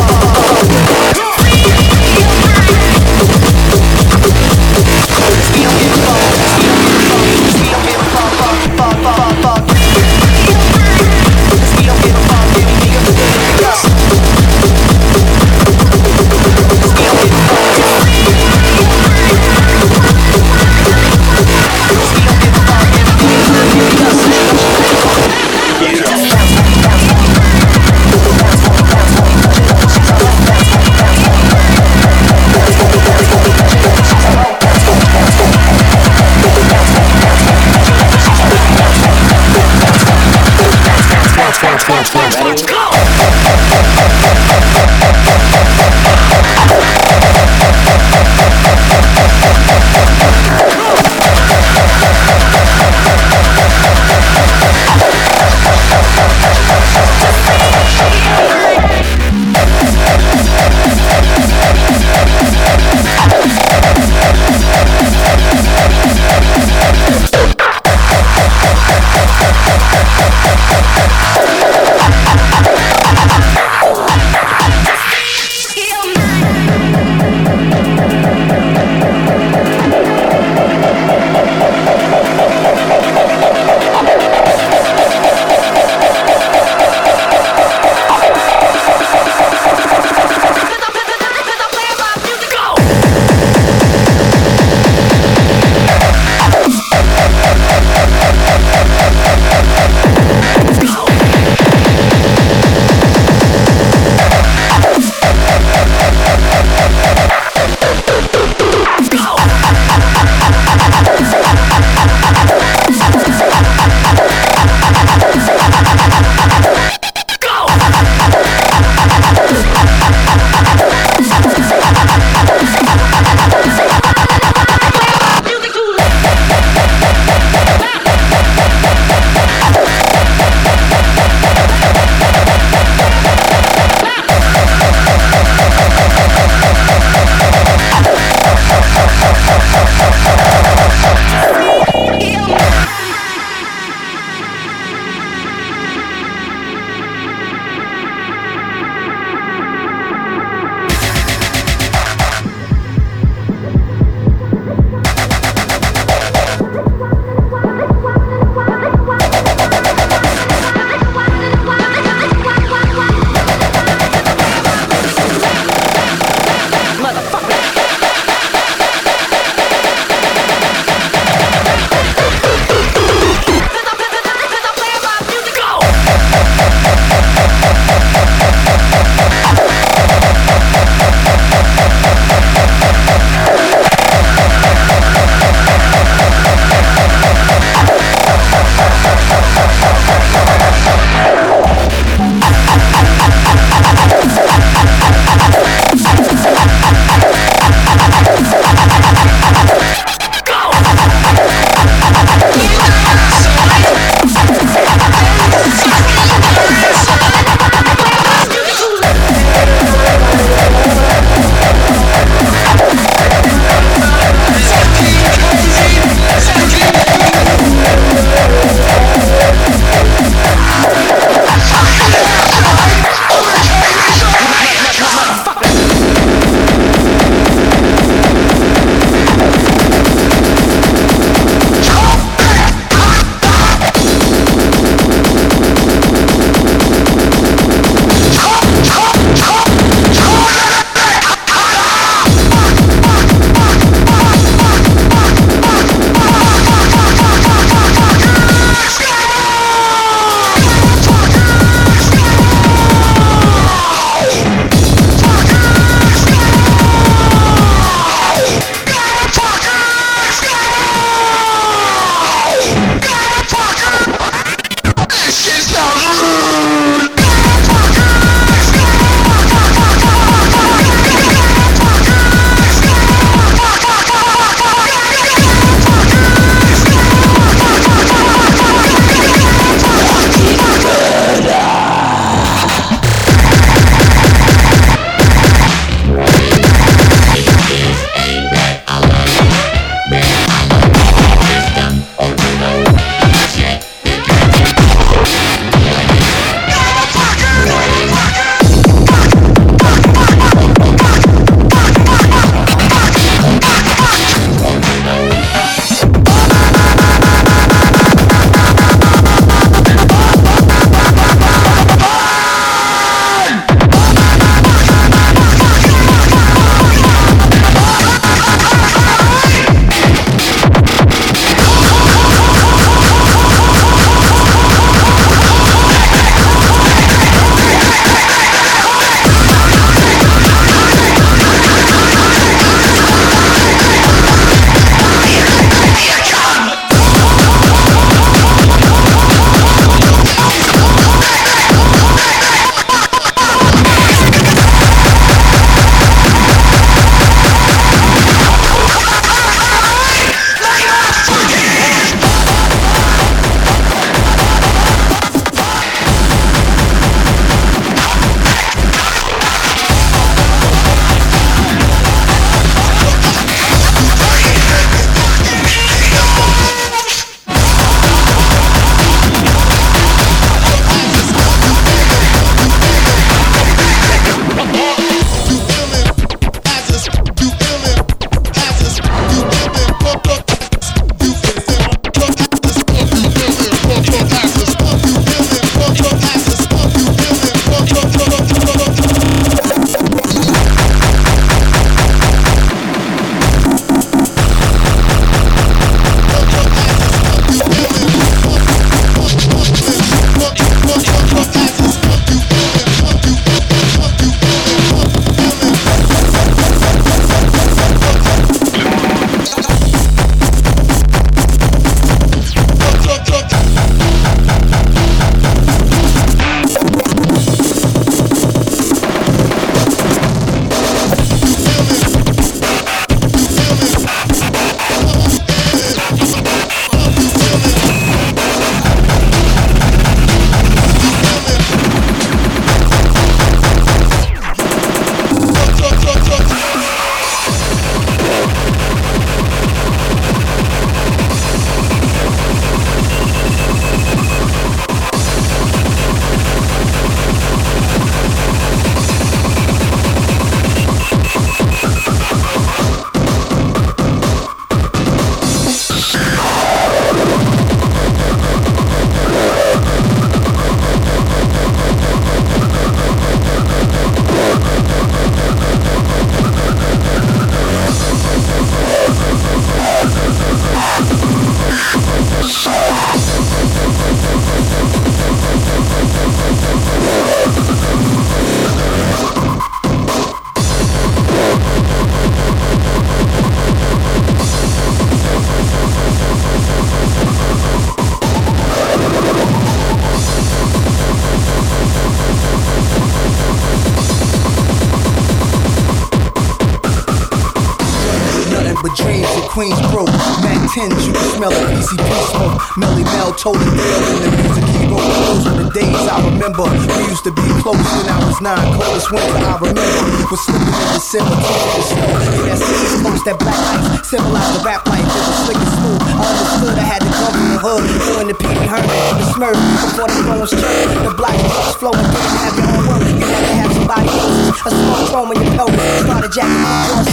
Queens broke, Mac 10s, you can smell the PCP smoke. Melly Mel told the tale in the music he wrote. Those were the days I remember. We used to be close when I was 9. Coldest winter I remember was slipping in December, teaching the snow. Yeah, that's the East Coast, that black ice symbolized the rap life. It was slick and smooth. I understood I had to come from the hood, doing the P.D. Herman and the Smurf before the phones churned. The black trucks flowing, didn't have your own work. You had to have somebody else's. A small chrome in your pelvis, started jacking my horse.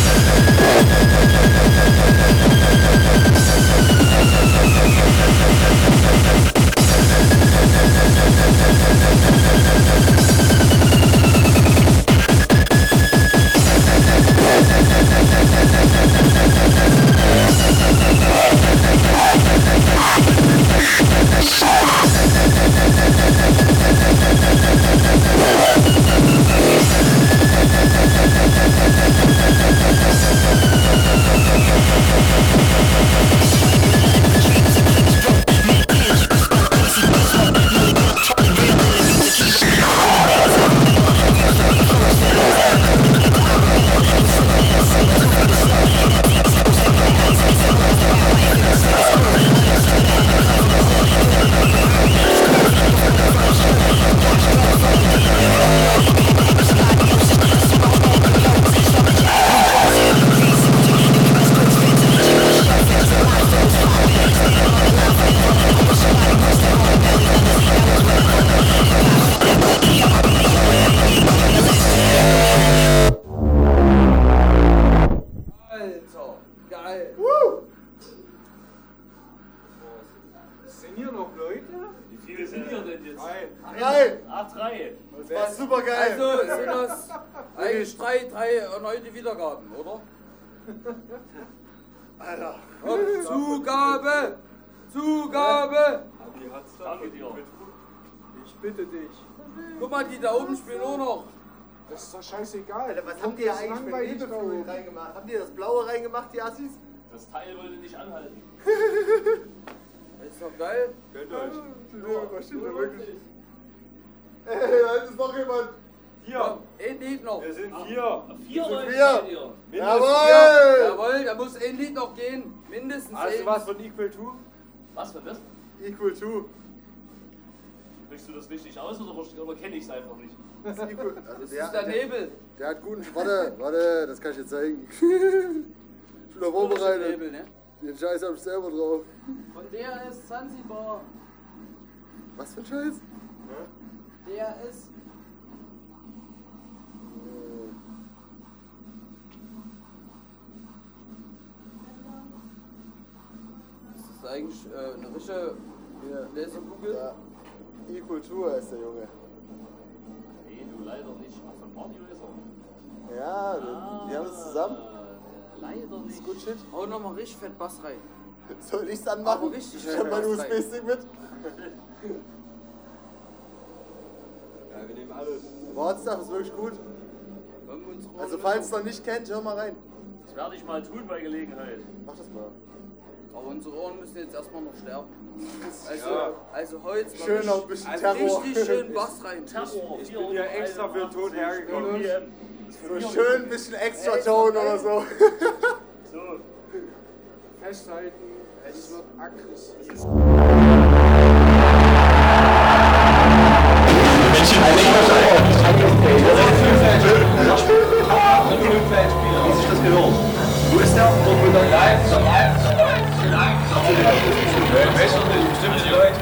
Erneute Wiedergaben, oder? Alter. Zugabe! Zugabe! Danke dir. Ich bitte dich. Guck mal, die da oben spielen auch noch. Das ist doch scheißegal. Alter, was habt ihr eigentlich für Hebefuel reingemacht? Habt ihr das Blaue reingemacht, die Assis? Das Teil wollte nicht anhalten. Das ist doch geil. Gönnt euch. Was steht da wirklich? Ey, da ist noch jemand. Hier. Ein Lied noch. Wir sind 4. 4 Leute. Jawohl! Jawohl, da muss ein Lied noch gehen. Mindestens Hast du eins. was von Equal 2? Was für das? Equal 2. Sprichst du das richtig aus oder kenne ich es einfach nicht? Das ist Equal. Also das ist der Nebel. Der hat guten. Warte, das kann ich dir zeigen. Ich bin da vorbereitet. Nebel, ne? Den Scheiß hab ich selber drauf. Von der ist Zanzibar. Was für ein Scheiß? Der ist. Das ist eigentlich eine richtige Laserkugel. Ja. Equal 2 heißt der Junge. Nee, du leider nicht. Ach, von Party Laser. Ja, die haben es zusammen. Leider nicht. Das ist gut Shit. Hau nochmal richtig fett Bass rein. Soll ich's anmachen? Aber richtig Ich hab meinen USB-Stick mit. Ja, wir nehmen alles. Wortstag ist wirklich gut. Also falls ihr noch nicht kennt, hör mal rein. Das werde ich mal tun bei Gelegenheit. Mach das mal. Aber unsere Ohren müssen jetzt erstmal noch sterben. Also heute mal schön noch ein bisschen Terror. Richtig schön Bass rein. Terror. Ich bin ja extra für den Ton hergekommen. So schön ein bisschen extra Ton oder so. So. Festhalten, es wird aggressiv. Wie sich das gehört? Wo ist der? Dort mit der Weißt du, bestimmt die Leute,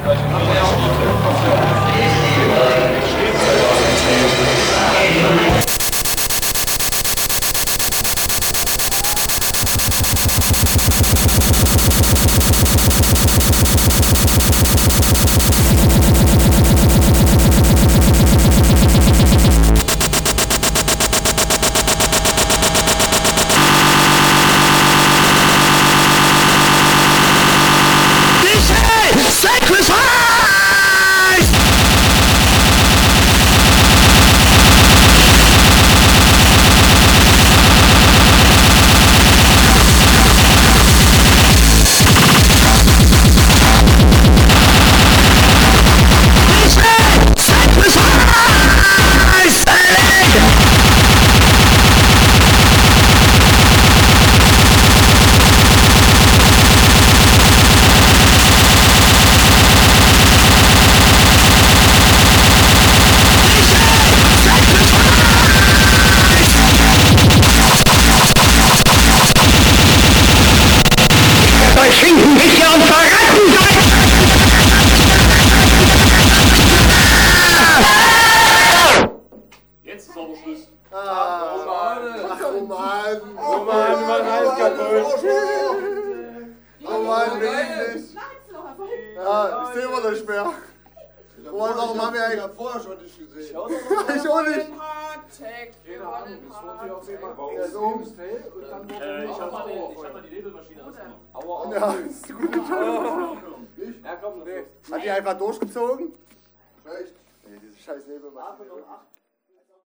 Oh Mann, wirklich. Ja, ich sehe immer nicht mehr. Oh, warum haben wir eigentlich vorher schon nicht gesehen? Ich auch nicht. Keine Ahnung, das wird hier auf jeden Fall Ja, so. und dann Ich hab mal die Nebelmaschine ausgemacht. Aua, Ja, ist gut. Ja, komm, nee. Hat die einfach durchgezogen? Echt? Nee, diese scheiß Nebelmaschine.